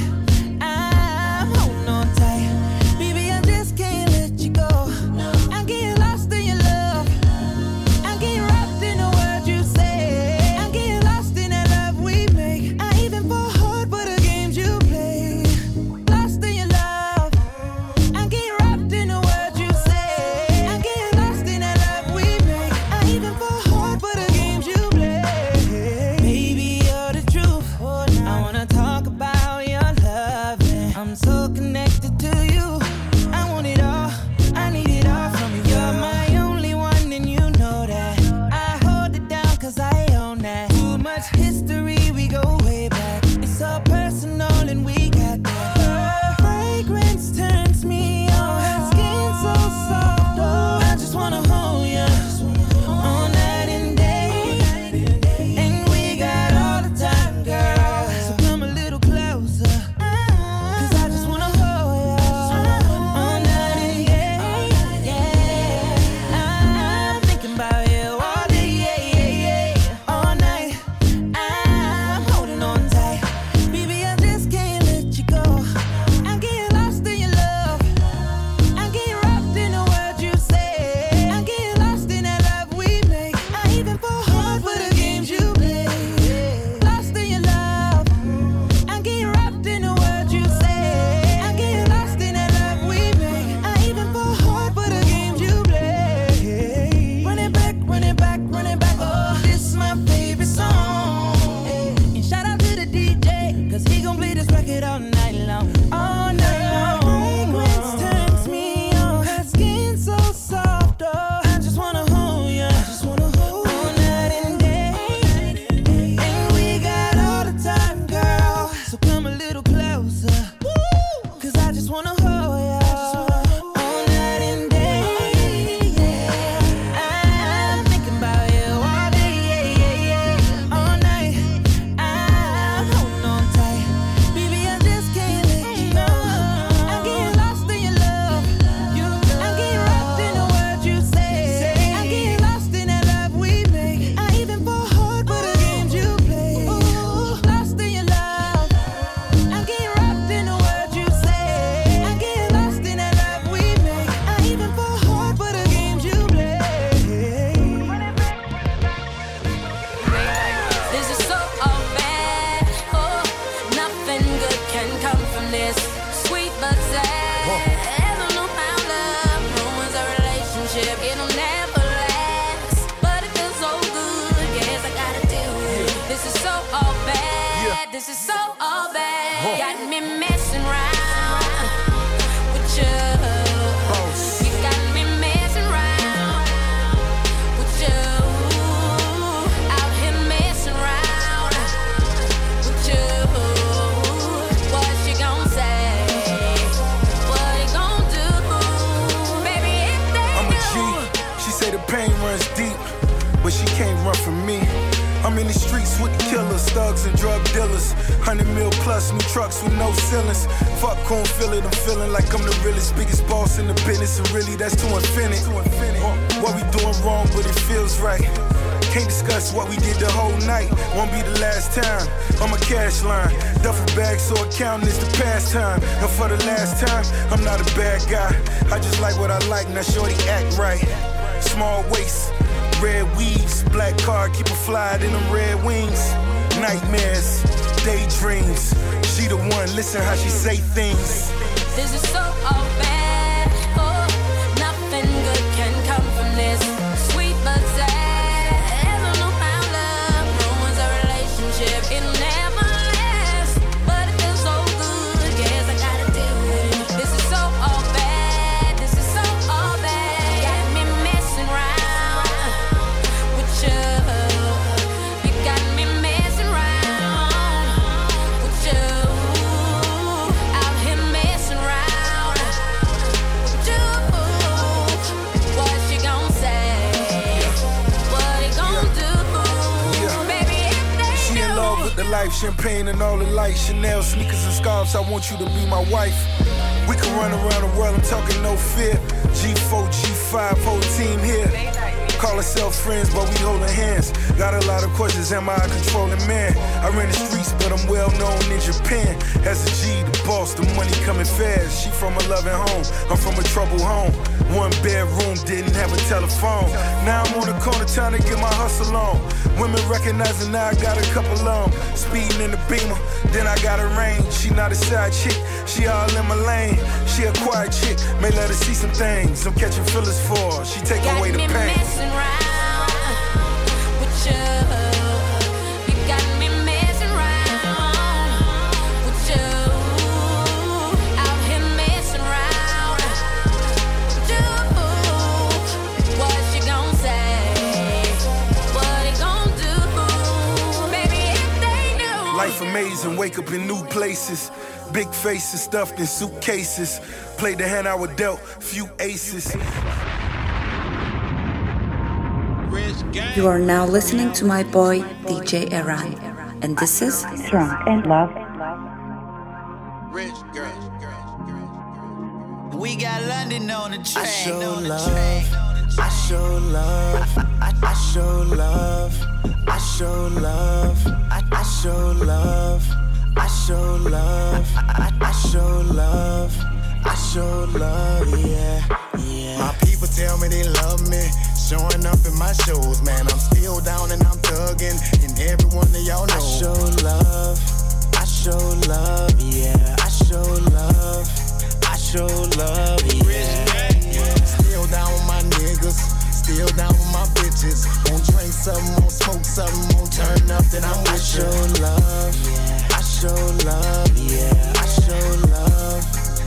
I'm holding on tight, baby. I just can't let you go. I'm getting lost in your love. I'm getting wrapped in the words you say. I'm getting lost in that love we make. I even fall hard for the games you play. Lost in your love. I'm getting wrapped in the words you say. I'm getting lost in that love we make. I even fall hard for the games you play. Baby, you're the truth. I wanna talk about your loving. I'm so connected to you. I want it all. I need it all from you. You're my only one, and you know that. I hold it down 'cause I own that. Too much history, we go way back. It's so personal, and we got that. Her fragrance turns me on. Her skin so soft, oh, I just wanna hold ya all night and day. And we got all the time, girl. So come a little closer, 'cause I just wanna hold ya all night and day. Yeah, I'm thinking about you all day, all night. I'm holding on tight, baby. I just can't let you go. I'm getting lost in your love. I'm getting wrapped in the words you say. I'm getting lost in that love we make. I even fall hard for the games you play. Lost in your love. I'm getting wrapped in the words you say. I'm getting lost in that love we make. I even fall hard for the games you play. Run it back, run it back, run it back. Oh, this is my favorite song. And shout out to the DJ, 'cause he gon' play this record all night long. All night long. Fragrance turns me on. Her skin so soft, oh, I just wanna hold ya all night and day. And we got all the time, girl. So come a little closer, 'cause I just wanna hold ya all night and day. Yeah, I'm thinking about you all day, all night. I'm holding on tight, baby. I just can't let you go. I'm getting lost in your love. I'm getting wrapped in the words you say. I'm getting lost in that love we make. I even fall hard for the games you play. Lost in your love. I'm getting wrapped in the words you say. I'm getting lost in that love we make. I even fall hard for the games you play. This is so all bad. Oh, nothing good can come from this. Sweet but sad. Ever no found love ruins a relationship. It'll never last. But it feels so good. Yes, I gotta do it. This is so all bad. This is so all bad. Got me messing around with you. You got me messing around with you. Out here messing around with you. What you gon' say? What you gon' do? Baby, if they I'm a do. G. She say the pain runs deep, but she can't run from me. I'm I'm in the streets with the killers, thugs and drug dealers. 100 mil plus, new trucks with no ceilings. Fuck who feel it, I'm feeling like I'm the realest, biggest boss in the business, and really that's to infinite. What we doing wrong, but it feels right. Can't discuss what we did the whole night. Won't be the last time. I'm a cash line. Duffel bag, so accounting is the pastime. And for the last time, I'm not a bad guy. I just like what I like, now shorty act right. Small waist, red weaves, black car, keep it fly in them red wings. Nightmares, daydreams. She the one, listen how she say things. This is so all bad. Oh, nothing good can come from this. Sweet but sad. It'll never last, but it feels so good. Guess I gotta deal with it. This is so all bad. This is so all bad. Got me messing around with you. You got me messing around with you. Out here messing around with you. What she gon' say? What he gon' do? With the life, champagne and all the lights, Chanel sneakers and scarves, I want you to be my wife. We can run around the world, I'm talking no fear. G4, G5, whole team here. Call ourselves friends, but we holding hands. Got a lot of questions, am I a controlling man? I ran the streets, but I'm well known in Japan. As a G, the boss, the money coming fast. She from a loving home, I'm from a troubled home. One bedroom, didn't have a telephone. Now I'm on the corner trying to get my hustle on. Women recognizing now I got a couple on. Speeding in the Beamer, then I got a range. She not a side chick, she all in my lane. She a quiet chick, may let her see some things I'm catching feelings for her. She take away the pain. Around with you. You got me messing around with you. Out here messing around with you. What she gon' say? What he gon' do? Baby, if they knew. Life amazing, wake up in new places. Big faces stuffed in suitcases. Played the hand I was dealt, few aces. You are now listening to my boy DJ Eran, and this is Drunk and Love. Rich girl. We got London on the train. I show love. I show love. I show love. I show love. I show love. I show love. I show love. I show love. Yeah. My people tell me they love me. Showing up in my shows, man, I'm still down and I'm thugging, and every one of y'all know. I show love, yeah. I show love, yeah. Still down with my niggas, still down with my bitches. Won't drink something, won't smoke something, won't turn up, then I'm with you. I show love, yeah. I show love, yeah. I show love,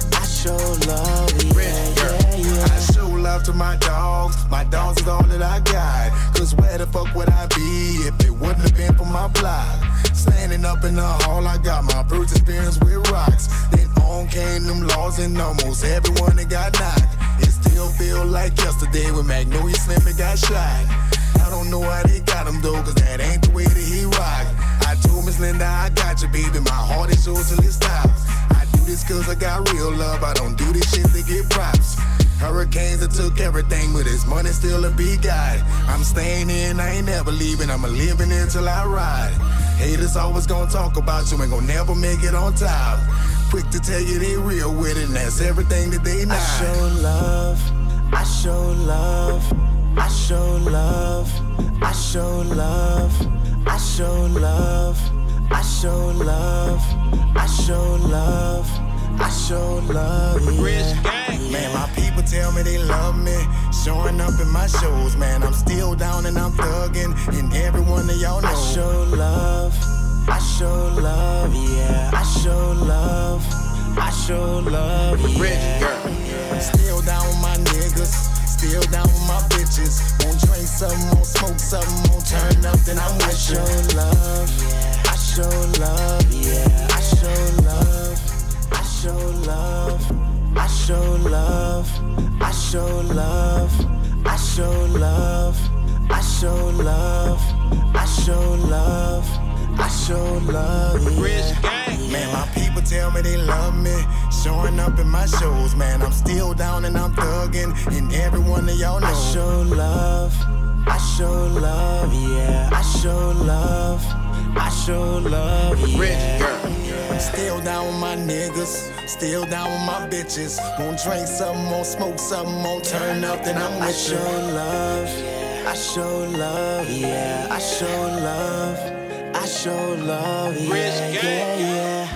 yeah. I show love to my dogs. My dogs is all that I got. Cause where the fuck would I be if it wouldn't have been for my block? Standing up in the hall, I got my first experience with rocks. Then on came them laws and almost everyone that got knocked. It still feel like yesterday when Magnolia Slim got shot. I don't know how they got him though, cause that ain't the way that he rock. I told Miss Linda, I got you, baby. My heart is yours till it stops. I do this cause I got real love. I don't do this shit to get props. Hurricanes that took everything, but this money still a big guy. I'm staying in, I ain't never leaving. I'ma living until I ride. Haters always gonna talk about you, ain't gonna never make it on top. Quick to tell you they real with it, and that's everything that they not. I show love, I show love, I show love, I show love, I show love, I show love, I show love, I show love, yeah. Man, my people tell me they love me. Showing up in my shows, man, I'm still down and I'm thugging, and every one of y'all know. I show love, yeah. I show love, yeah. Still down with my niggas, still down with my bitches. Won't drink something, won't smoke something, won't turn up, then I'm with you. I show love, yeah. I show love, yeah. I show love, I show love, I show love, I show love, I show love, I show love, I show love, yeah. Man, my people tell me they love me. Showing up in my shows, man, I'm still down and I'm thugging. And every one of y'all know I show love, yeah. I show love, yeah. Rich girl. I'm still down with my niggas, still down with my bitches. Won't drink something, won't smoke something, won't turn up, then I'm with I show love, yeah. I show love, yeah. Rich gang. Yeah.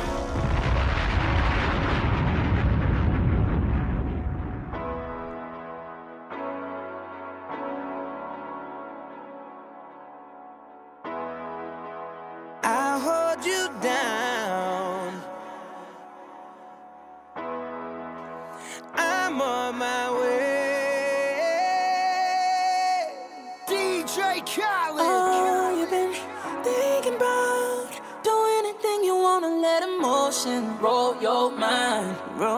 I'll hold you down. I'm on my way. DJ Khaled. Oh, you've been thinking about doing anything you wanna, let emotion roll your mind.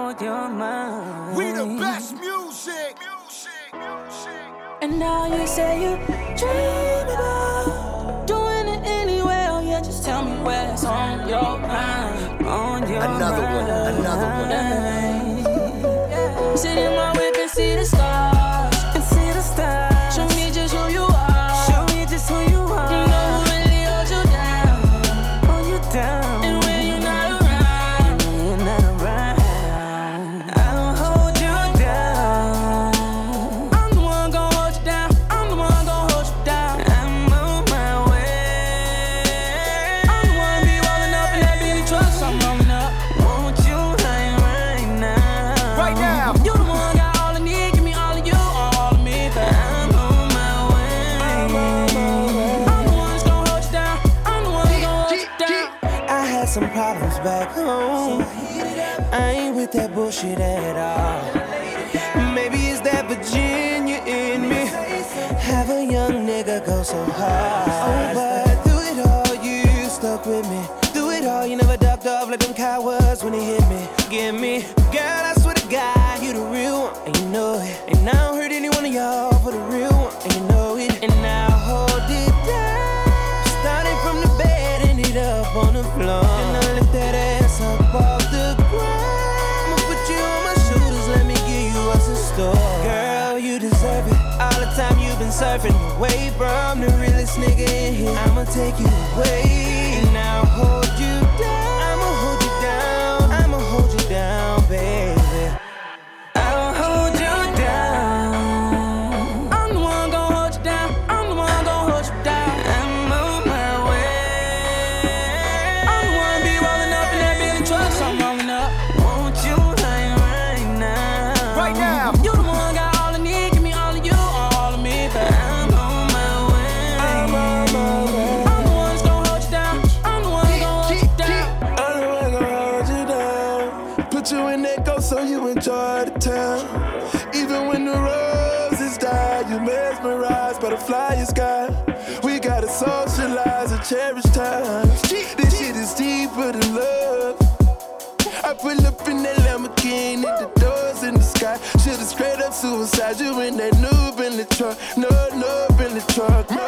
We the best music. And now you say you dream about doing it anyway. Oh yeah, just tell me what's on your mind. Another one. Sit in my whip and see the stars. Show me just who you are. You know who really holds you down. And when you're not around, I'll hold you down. I'm the one gon' hold you down. I'm on my way. I'm the one be rolling up in that Billy truck, so I'm rolling up. Won't you hang right now? Right now. You the one got all I need, give me all of you, all of me, but I'm on my way. I'm the one that's gon' hold you down. I'm the one gon' hold you down. I had some problems back home. I ain't with that bullshit at all. Maybe it's that Virginia in me. Have a young nigga go so hard. Oh, but through it all, you stuck with me. Through it all, you never ducked off like them cowards when they hit me. Give me, girl, I swear to God, you the real one, and you know it. And I don't hurt any one of y'all for the real one, and you know it. And I'll hold it down. Starting from the bed, ended up on the floor. And I lift that ass up off the ground. I'ma put you on my shoulders, let me give you what's in store. Girl, you deserve it. All the time you've been surfing away from the realest nigga in here. I'ma take you away, and I'll hold you down. I'ma hold you down, baby. I'll hold you down. I'm the one gon' hold you down. I'm the one gon' hold you down. I'm on my way. I'm the one be rolling up in that Billy truck, so I'm rolling up. Won't you hang right now? Right now. You the one got all I need, give me all of you, all of me, but I'm on my way. I'm the one that's gon' hold you down. I'm the one gon' hold you down. I'm the one gonna hold you down. Put you in that ghost so you enjoy the town. Even when the roses die, you mesmerized by the flyer sky. We gotta socialize and cherish time. This shit is deeper than love. I pull up in that Lamborghini, the doors in the sky. Should've straight up suicide you in that noob in the truck. No, noob in the truck, no.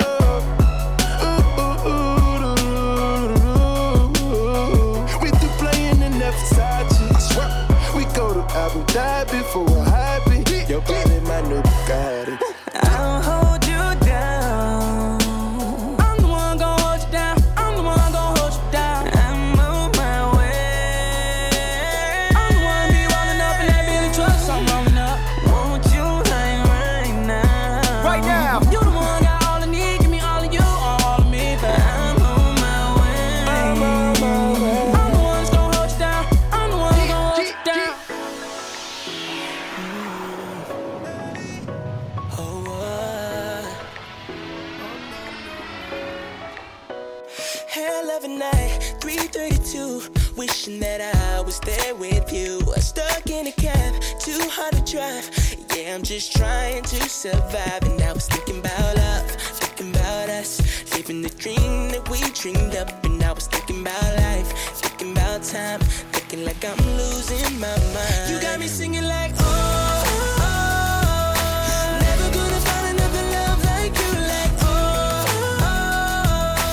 We through playing in that Versace. I swear. We go to Abu Dhabi for a hobby. Your body, my new Bugatti. I'll hold you down. I'm the one gon' hold you down. I'm the one gon' hold you down. I'm on my way. I'm the one be rolling up in that Billy truck, so I'm rolling up. Won't you hang right now? Right now. You the one got all I need, give me all of you, all of me, but I'm on my way. I'm the one that's gon' hold you down. I'm the one gon' hold you down. Hell of a night, 3:32. Wishing that I was there with you. Stuck in a cab, too hard to drive. Yeah, I'm just trying to survive. And I was thinking about love, thinking about us, living the dream that we dreamed up. And I was thinking about life, thinking about time, thinking like I'm losing my mind. You got me singing like, oh, oh, oh. Never gonna find another love like you, like, oh, oh, oh.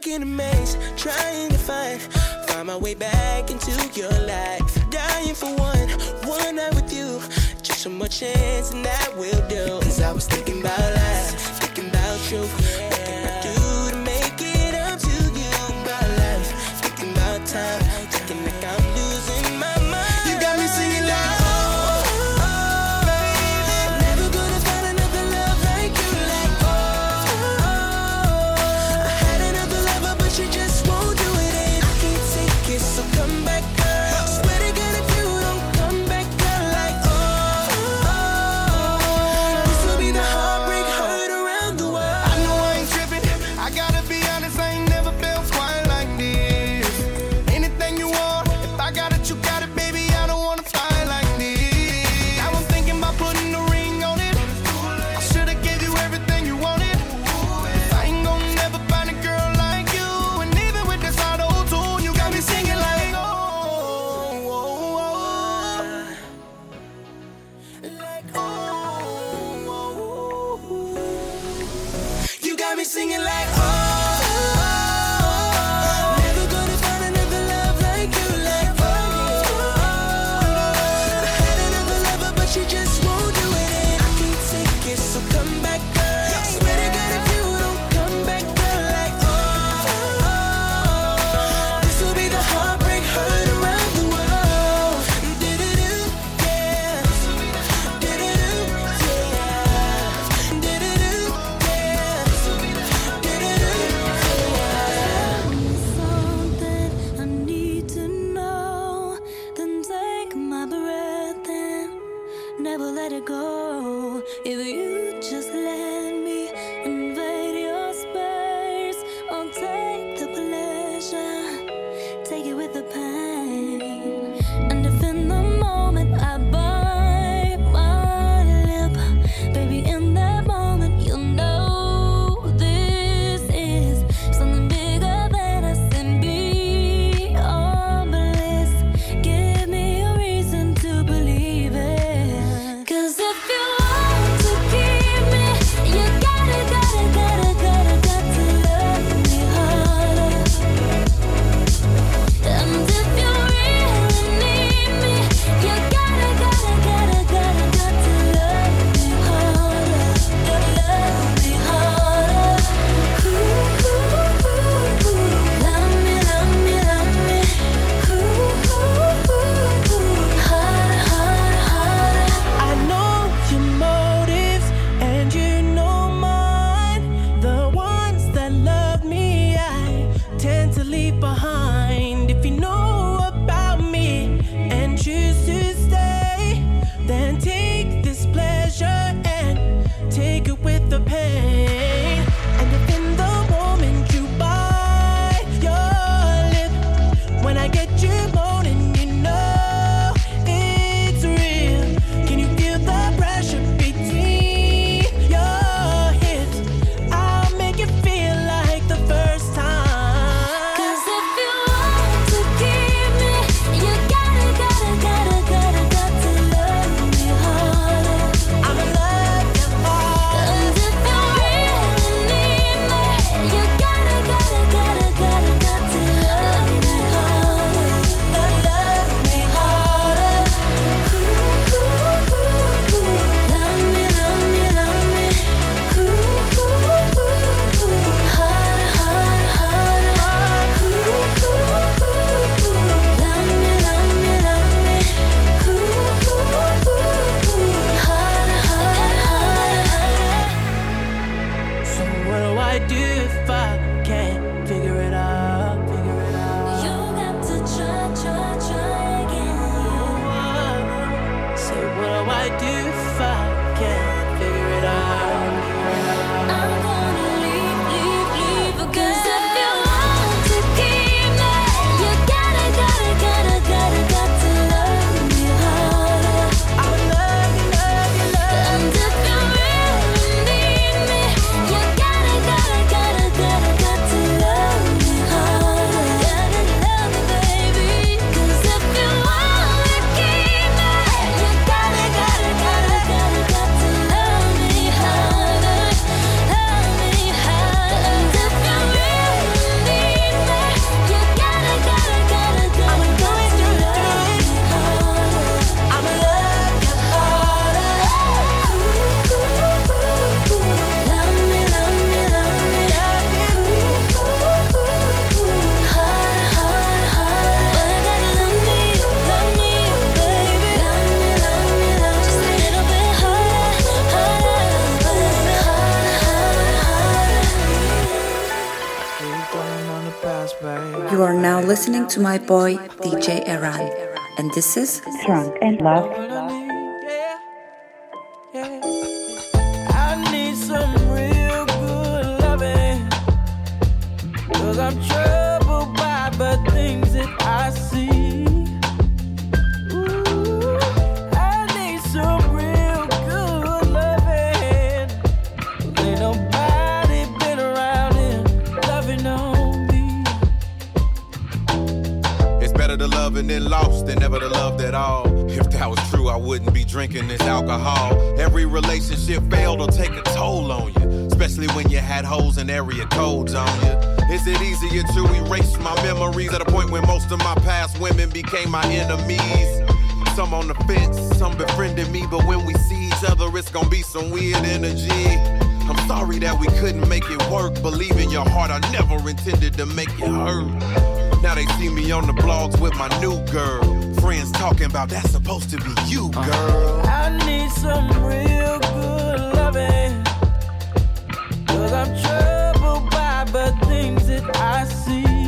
in a maze, trying to find my way back into your life. Dying for one night with you. Just one more chance and that will do. Cause I was thinking about life, thinking about you. What can I do to make it up to you? About life, thinking about time, thinking like I'm losing my mind. You got me singing like, oh, baby. Never gonna find another love like you, like, I had another lover, but she just won't do it, and I can't take it, so come back, girl. Swear to God, if you don't come back, girl, like, this will be the heartbreak heard around the world. I know I ain't tripping. I gotta be honest, I ain't never felt quite like this. Anything you want, if I got it, you got it, baby. I don't wanna fight like this. Now I'm thinking about putting a ring on it. I should've gave you everything you wanted. Cause I ain't gonna never find a girl like you. And even with this auto-tune, you got me singing like, oh, oh, oh. Like, you got me singing like, never gonna find another love like you, like, I had another lover, but she just won't do it, and I can't take it, so come back, girl. Swear to God, if you don't come back, girl, like, this will be the heartbreak heard around the world. Do-do-do, yeah. Do-do-do, yeah. Do-do-do, yeah. Something I need to know. Then take my breath and never let it go. If you just let me invade your space, I'll take the pleasure, take it with the pain. And if in the moment I bite my lip, baby, in that moment you'll know this is something bigger than us and beyond bliss. Give me a reason to believe it. 'Cause if you want to keep me, listening to my boy DJ Eran, and this is Drunk and Love. I need some real good loving, 'cause I'm troubled by the things that I see. Ooh, I need some real good loving. Ain't nobody been around here loving on me. It's better to love and then lost than never to love at all. If that was true, I wouldn't be drinking this alcohol. Every relationship failed or take a toll on you, especially when you had hoes and area codes on you. Is it easier to erase my memories at a point when most of my past women became my enemies? Some on the fence, some befriended me, but when we see each other, it's gonna be some weird energy. I'm sorry that we couldn't make it work. Believe in your heart, I never intended to make it hurt. Now they see me on the blogs with my new girl. Friends talking about that's supposed to be you, girl. I need some real good loving, 'cause I'm troubled by the things that I see.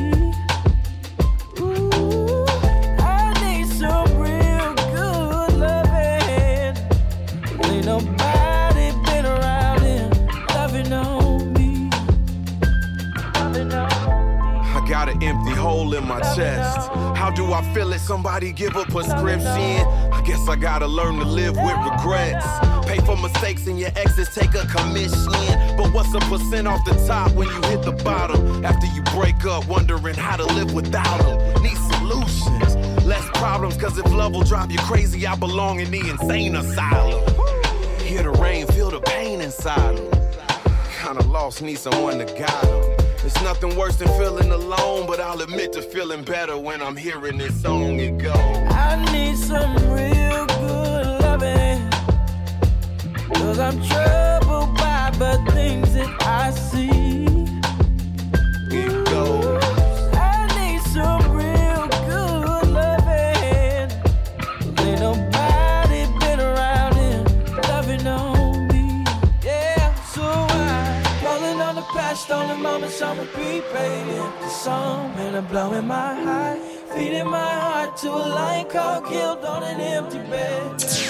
Ooh, I need some real good loving. Ain't nobody been around here loving on me. Loving on me. I got an empty hole in my chest. How do I feel it? Somebody give a prescription. I guess I gotta learn to live with regrets. Pay for mistakes and your exes take a commission. But what's a percent off the top when you hit the bottom? After you break up, wondering how to live without them. Need solutions, less problems, 'cause if love will drive you crazy, I belong in the insane asylum. Hear the rain, feel the pain inside them. Kinda lost, need someone to guide them. It's nothing worse than feeling alone, but I'll admit to feeling better when I'm hearing this song. It goes, I need some real good loving, 'cause I'm troubled by the things that I see. It goes, I need some real good loving. Ain't nobody been around here loving on me. Yeah, so I'm rolling on the past, stolen moments on repeat, playing the song, and I'm blowing my high, feeding my heart to a lion called killed on an empty bed.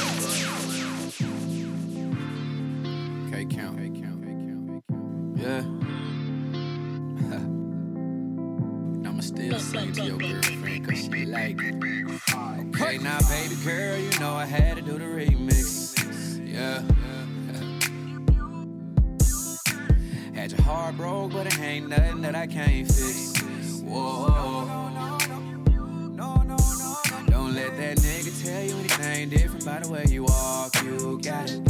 Yeah. I'ma still sing to your girlfriend 'cause she like it. Okay, now baby girl, you know I had to do the remix. Yeah. Had your heart broke, but it ain't nothing that I can't fix. Whoa. Don't let that nigga tell you anything different by the way you walk. You got it.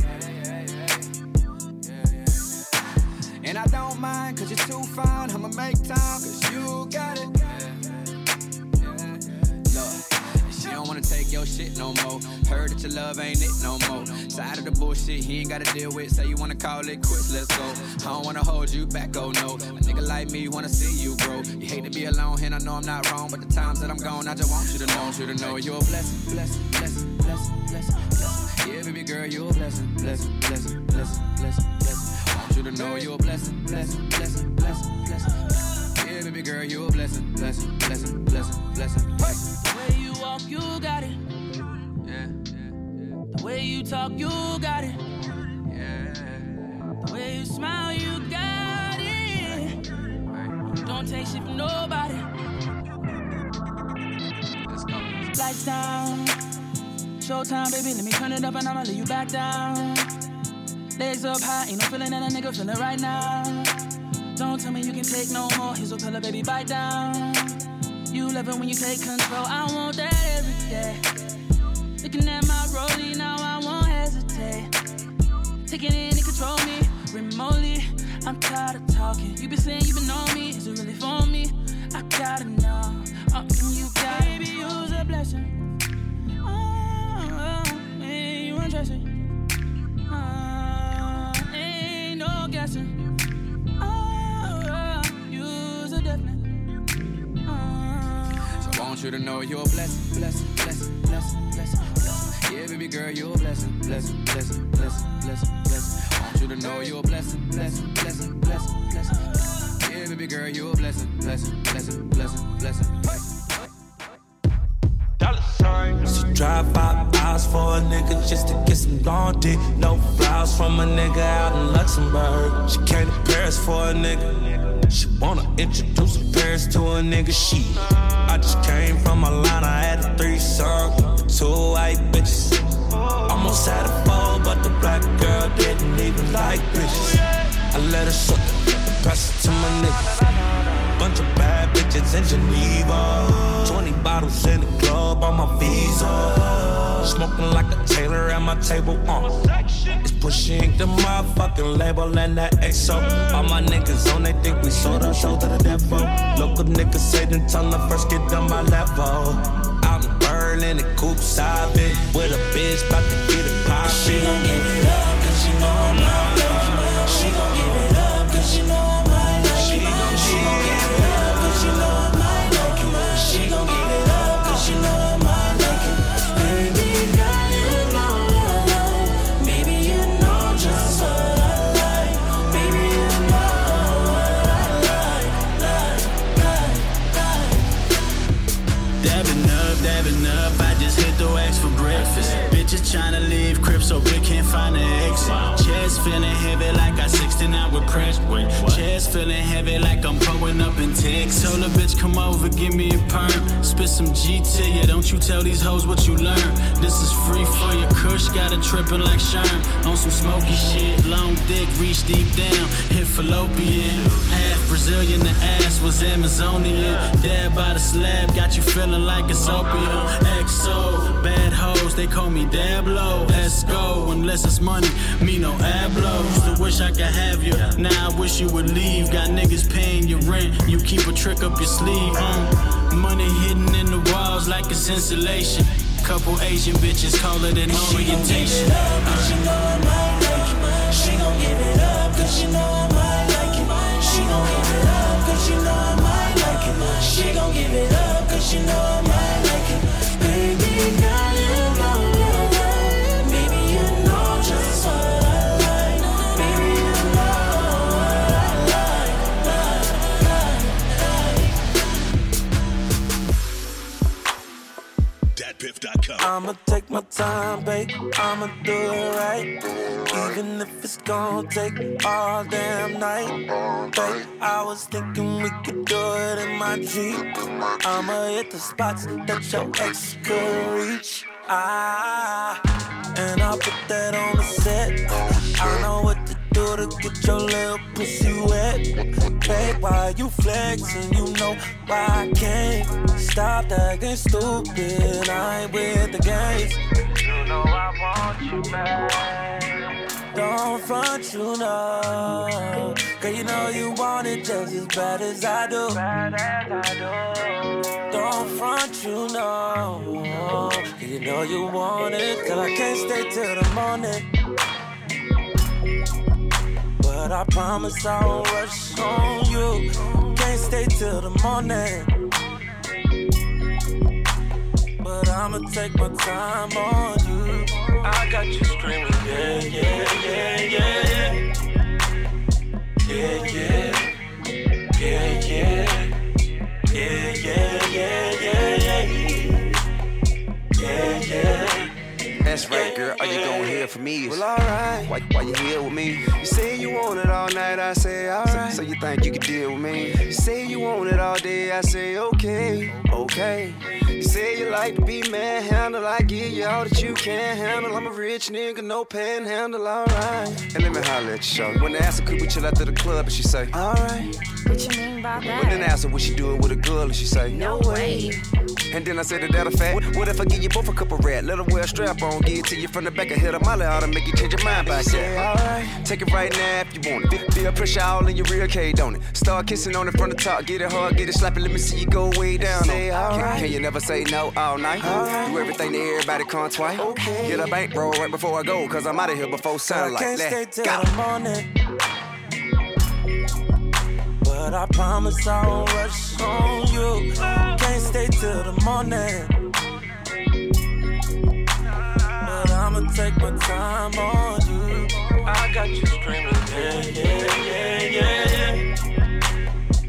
And I don't mind, 'cause you're too fine. I'ma make time, 'cause you got it. Look, she don't wanna take your shit no more. Heard that your love ain't it no more. Tired of the bullshit he ain't gotta deal with. Say you wanna call it quits, let's go. I don't wanna hold you back, oh no. A nigga like me wanna see you grow. You hate to be alone, and I know I'm not wrong, but the times that I'm gone, I just want you to know you're a blessing, blessing, blessing, blessing, blessing, blessing. Yeah, baby girl, you're a blessing, blessing, blessing, blessing, blessing, blessing. Want you to know you're a blessing, blessing, blessing, blessing, blessing. Yeah, baby girl, you're a blessing, blessing, blessing, blessing, blessing. The way you walk, you got it. Yeah. The way you talk, you got it. Yeah. The way you smile, you got it. Don't take shit from nobody. Let's go. Lights down, showtime, baby. Let me turn it up and I'ma lay you back down. Legs up high, ain't no feeling that a nigga feeling right now. Don't tell me you can take no more. Here's a pillar, baby, bite down. You love it when you take control. I want that every day. Looking at my rollie, now I won't hesitate. Taking it and control me remotely. I'm tired of talking. You been saying you been on me. Is it really for me? I gotta know. You got baby, you's a blessing. Man, you undressing. Ain't no guessing. You's a definite. So I want you to know you're a blessing, blessing, blessing, blessing, blessing, blessing. Yeah, baby girl, you're a blessing, blessing, blessing, blessing, blessing, blessing. I want you to know you're a blessing, blessing, blessing, blessing, blessing. Yeah, Yeah, baby girl, you a blessing, blessing, blessing, blessing, blessing, blessing. She drive 5 hours for a nigga just to get some long dick. No flowers from a nigga out in Luxembourg. She came to Paris for a nigga. She wanna introduce her parents to a nigga. I just came from Atlanta, I had a threesome with 2 white bitches. Almost had a four, but the black girl didn't even like bitches. I let her suck it, pass it to my niggas. Bunch of bad bitches in Geneva. 20 bottles in the club on my visa. Smoking like a Taylor at my table. It's pushing the motherfucking label and that XO. All my niggas on, they think we sold our show to the devil. Local niggas say them tell them first get on my level. Out in Berlin, the coupe side bit with a bitch about to get it poppin'. She gon' give it up, cause she know I'm not lucky. She gon' give it up, cause she know I'm not lucky. She gon' give it up, cause she know I'm not lucky. She gon' give it up, cause she know I'm not lucky. Baby girl, you know what I like. Maybe you know just what I like. Baby, you know what I like. Dabbing up, I just hit the wax for breakfast. Bitches tryna leave crib so we can't find an exit. Chest feeling heavy like I 69 with press. Chest feeling heavy like I'm pulling up in Texas. Told a bitch come over, give me a perm. Spit some G to you, don't you tell these hoes what you learn. This is free for your kush, got it trippin' like Sherm. On some smoky shit, long dick, reach deep down, hit fallopian. Half Brazilian, the ass was Amazonian. Dab by the slab, got you feeling like it's opium. XO, bad hoes, they call me Dablo. Let's go, unless it's money, me no ablo. Used to wish I could have you, now I wish you would leave. Got niggas paying your rent, you keep a trick up your sleeve. Money hidden in the walls like it's insulation. Couple Asian bitches call it an orientation. She gon' give it up, cause she know I might like it. She gon' give it up, cause she know I might like it. She gon' give it up, cause she know I might like it. She gon' give it up, cause she know I might like it. Baby girl, you know what I like. Maybe you know just what I like. Baby, you know what I like. DatPiff.com. I'ma take my time, babe. I'ma do it right. Even if it's gon' take all damn night. Babe, I was thinking we could do it in my Jeep. I'ma hit the spots that your ex could reach. And I'll put that on the set. I know what to do to get your little pussy wet. Babe, why you flexing? You know why I can't stop acting stupid. I ain't with the games. You know I want you back. Don't front, you know. Cause you know you want it just as bad as I do. Don't front, you know. Cause you know you want it. Till I can't stay till the morning. But I promise I won't rush on you. Can't stay till the morning. But I'ma take my time on you. I got you screaming, yeah, yeah, yeah, yeah, yeah. Yeah, yeah. Yeah, yeah. Yeah, yeah, yeah, yeah, yeah. Yeah, yeah. That's right, girl. All you gon' hear from me is, well, alright. Why you here with me? You say you want it all night, I say alright. So you think you can deal with me? You say you want it all day, I say okay, okay. You say you like to be manhandled, I give you all that you can handle. I'm a rich nigga, no panhandle, alright. And let me holler at you, shorty. When they ask her, could we chill out to the club, and she say, alright. What you mean by that? When then ask her, would she do it with a girl, and she say, no way. And then I said that a fact. What if I give you both a couple rat? Let her wear a strap on, give it to you from the back and hit a molly out and make you change your mind back there. Alright. Take it right now if you want it. Feel pressure all in your rear cage, don't it? Start kissing on it from the top, get it hard, get it slapping, let me see you go way down. Say alright. Can you never say no all night? Alright. Do everything to everybody come twice. Okay. Get a bankroll right before I go, cause I'm out of here before sunlight. I can't stay till the morning. But I promise I won't rush on you. Can't stay till the morning. But I'ma take my time on you. I got you screaming, yeah, yeah, yeah, yeah,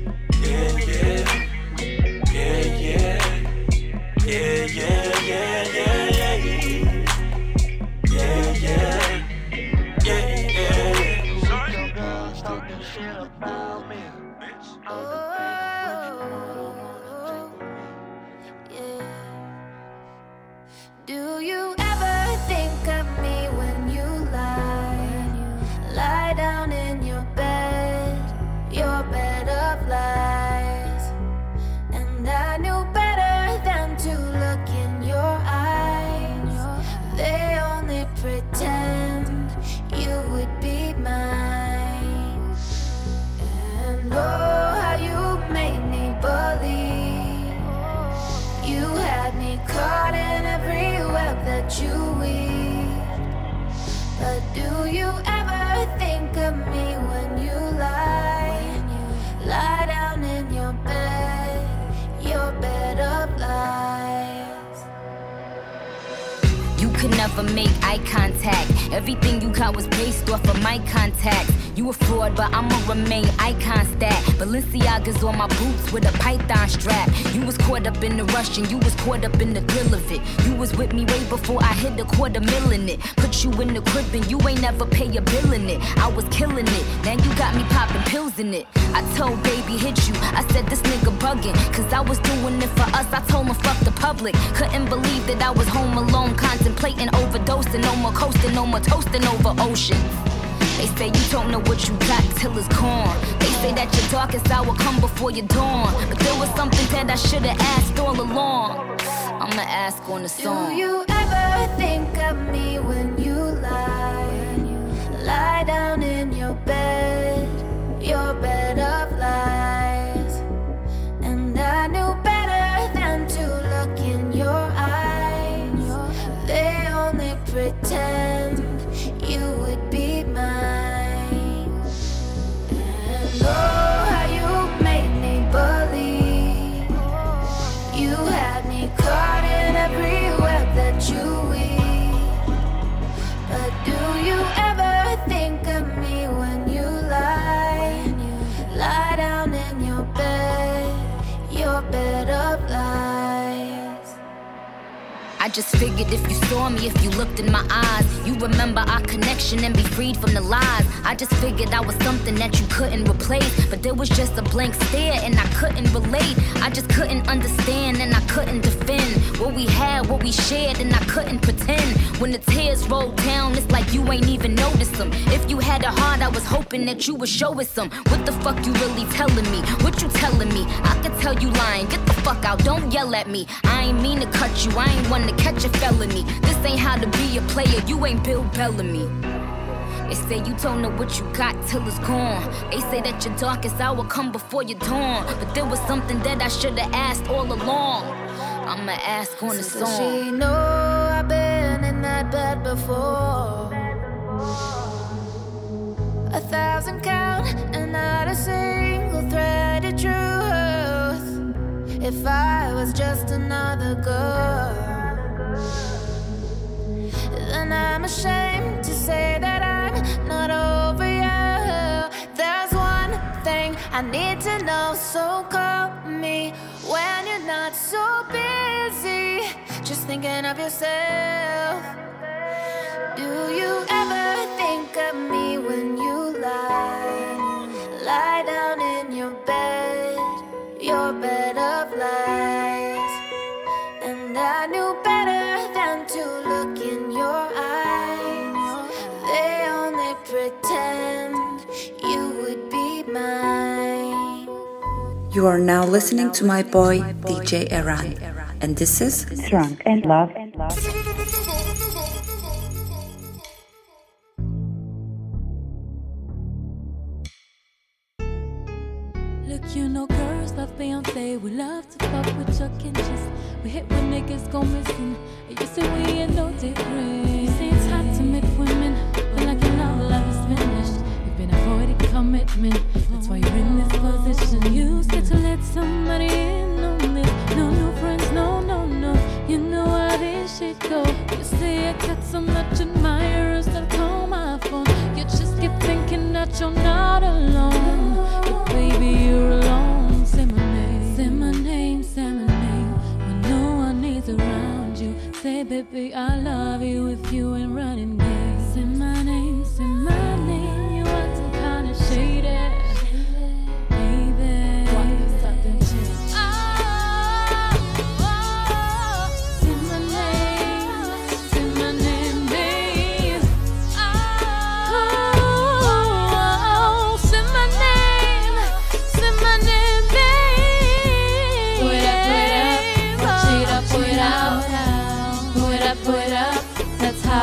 pretend you would be mine. And oh, how you made me believe. You had me caught in every web that you weave. But do you ever think of me when you lie down in your bed of lies? You could never make eye contact. Everything you got was based off of my contacts. You a fraud, but I'ma remain icon stat. Balenciaga's on my boots with a python strap. You was caught up in the rush and you was caught up in the thrill of it. You was with me way before I hit $250,000 in it. Put you in the crib and you ain't never pay a bill in it. I was killing it, now you got me popping pills in it. I told baby hit you, I said this nigga bugging. Cause I was doing it for us, I told him fuck the public. Couldn't believe that I was home alone, contemplating overdosing. No more coasting, no more toasting over ocean. They say you don't know what you got till it's gone. They say that your darkest hour come before your dawn. But there was something that I should've asked all along. I'ma ask on the song. Do you ever think of me when you lie down in your bed of lies? And I knew better than to look in your eyes. They only pretend you would be mine. And oh, how you made me believe. You had me caught in every web that you weave. But do you ever think of me when you lie down in your bed of lies? I just figured if you saw me, if you looked in my eyes, you remember our connection and be freed from the lies. I just figured I was something that you couldn't replace. But there was just a blank stare and I couldn't relate. I just couldn't understand and I couldn't defend what we had, what we shared, and I couldn't pretend. When the tears rolled down, it's like you ain't even noticed them. If you had a heart, I was hoping that you would show us some. What the fuck you really telling me? What you telling me? I could tell you lying. Get the fuck out, don't yell at me. I ain't mean to cut you, I ain't one to catch a felony. This ain't how to be a player, you ain't Bill Bellamy. They say you don't know what you got till it's gone. They say that your darkest hour come before your dawn. But there was something that I should've asked all along. I'ma ask on the song. Does she know I've been in that bed before? 1,000 count and not a single thread of truth. If I was just another girl, then I'm ashamed to say that I'm not over you. There's one thing I need to know, so call me when you're not so busy, just thinking of yourself. Do you ever think of me when you lie down in your bed of lies? And I knew better than to look in your eyes. They only pretend you would be mine. You are now listening to my boy DJ Eran, and this is Drunk and Love. Look, you know girls love Beyonce. We love to fuck with Chuck and Cheese. We hit when niggas go missing. You say we ain't no different. You say it's hard to meet women, feel like your love is finished. You've been avoiding commitment, that's why you're in this position. You scared to let somebody in on this. No new friends, no. You know how this shit go. You say I got so much admirers that call my phone. You just keep thinking that you're not alone. But baby, you're alone. Say my name, say my name, say my name. When no one is around you, say baby, I love you if you ain't running game. Say my name, say my name. You acting kinda shady, baby. What is that then?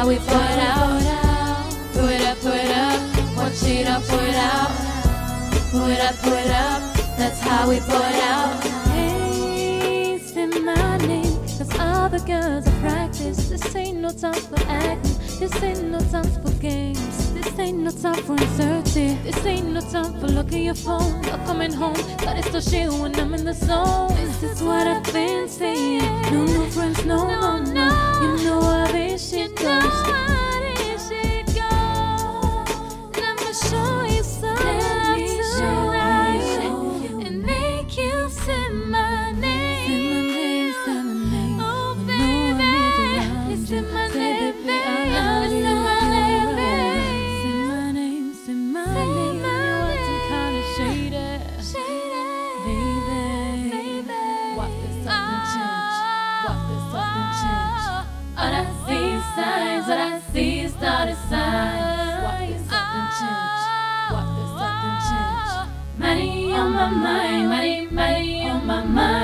we put out. Put it up, watch it up, put it out. Put it up, that's how we put out. Hey, say my name, cause all the girls are practice. This ain't no time for acting, this ain't no time for games. This ain't no time for uncertainty, this ain't no time for looking your phone or coming home. Gotta still shit when I'm in the zone. This is what I've been saying. No friends, no. You know how this shit goes. Show you some love tonight and make you say my name. Oh baby, say my name, baby. Say my name, baby. Say my name. You're acting kinda shady, baby. Walk this up and change. All I see is signs. All I see is started signs. Walk this up and change. Money on my mind, money on my mind.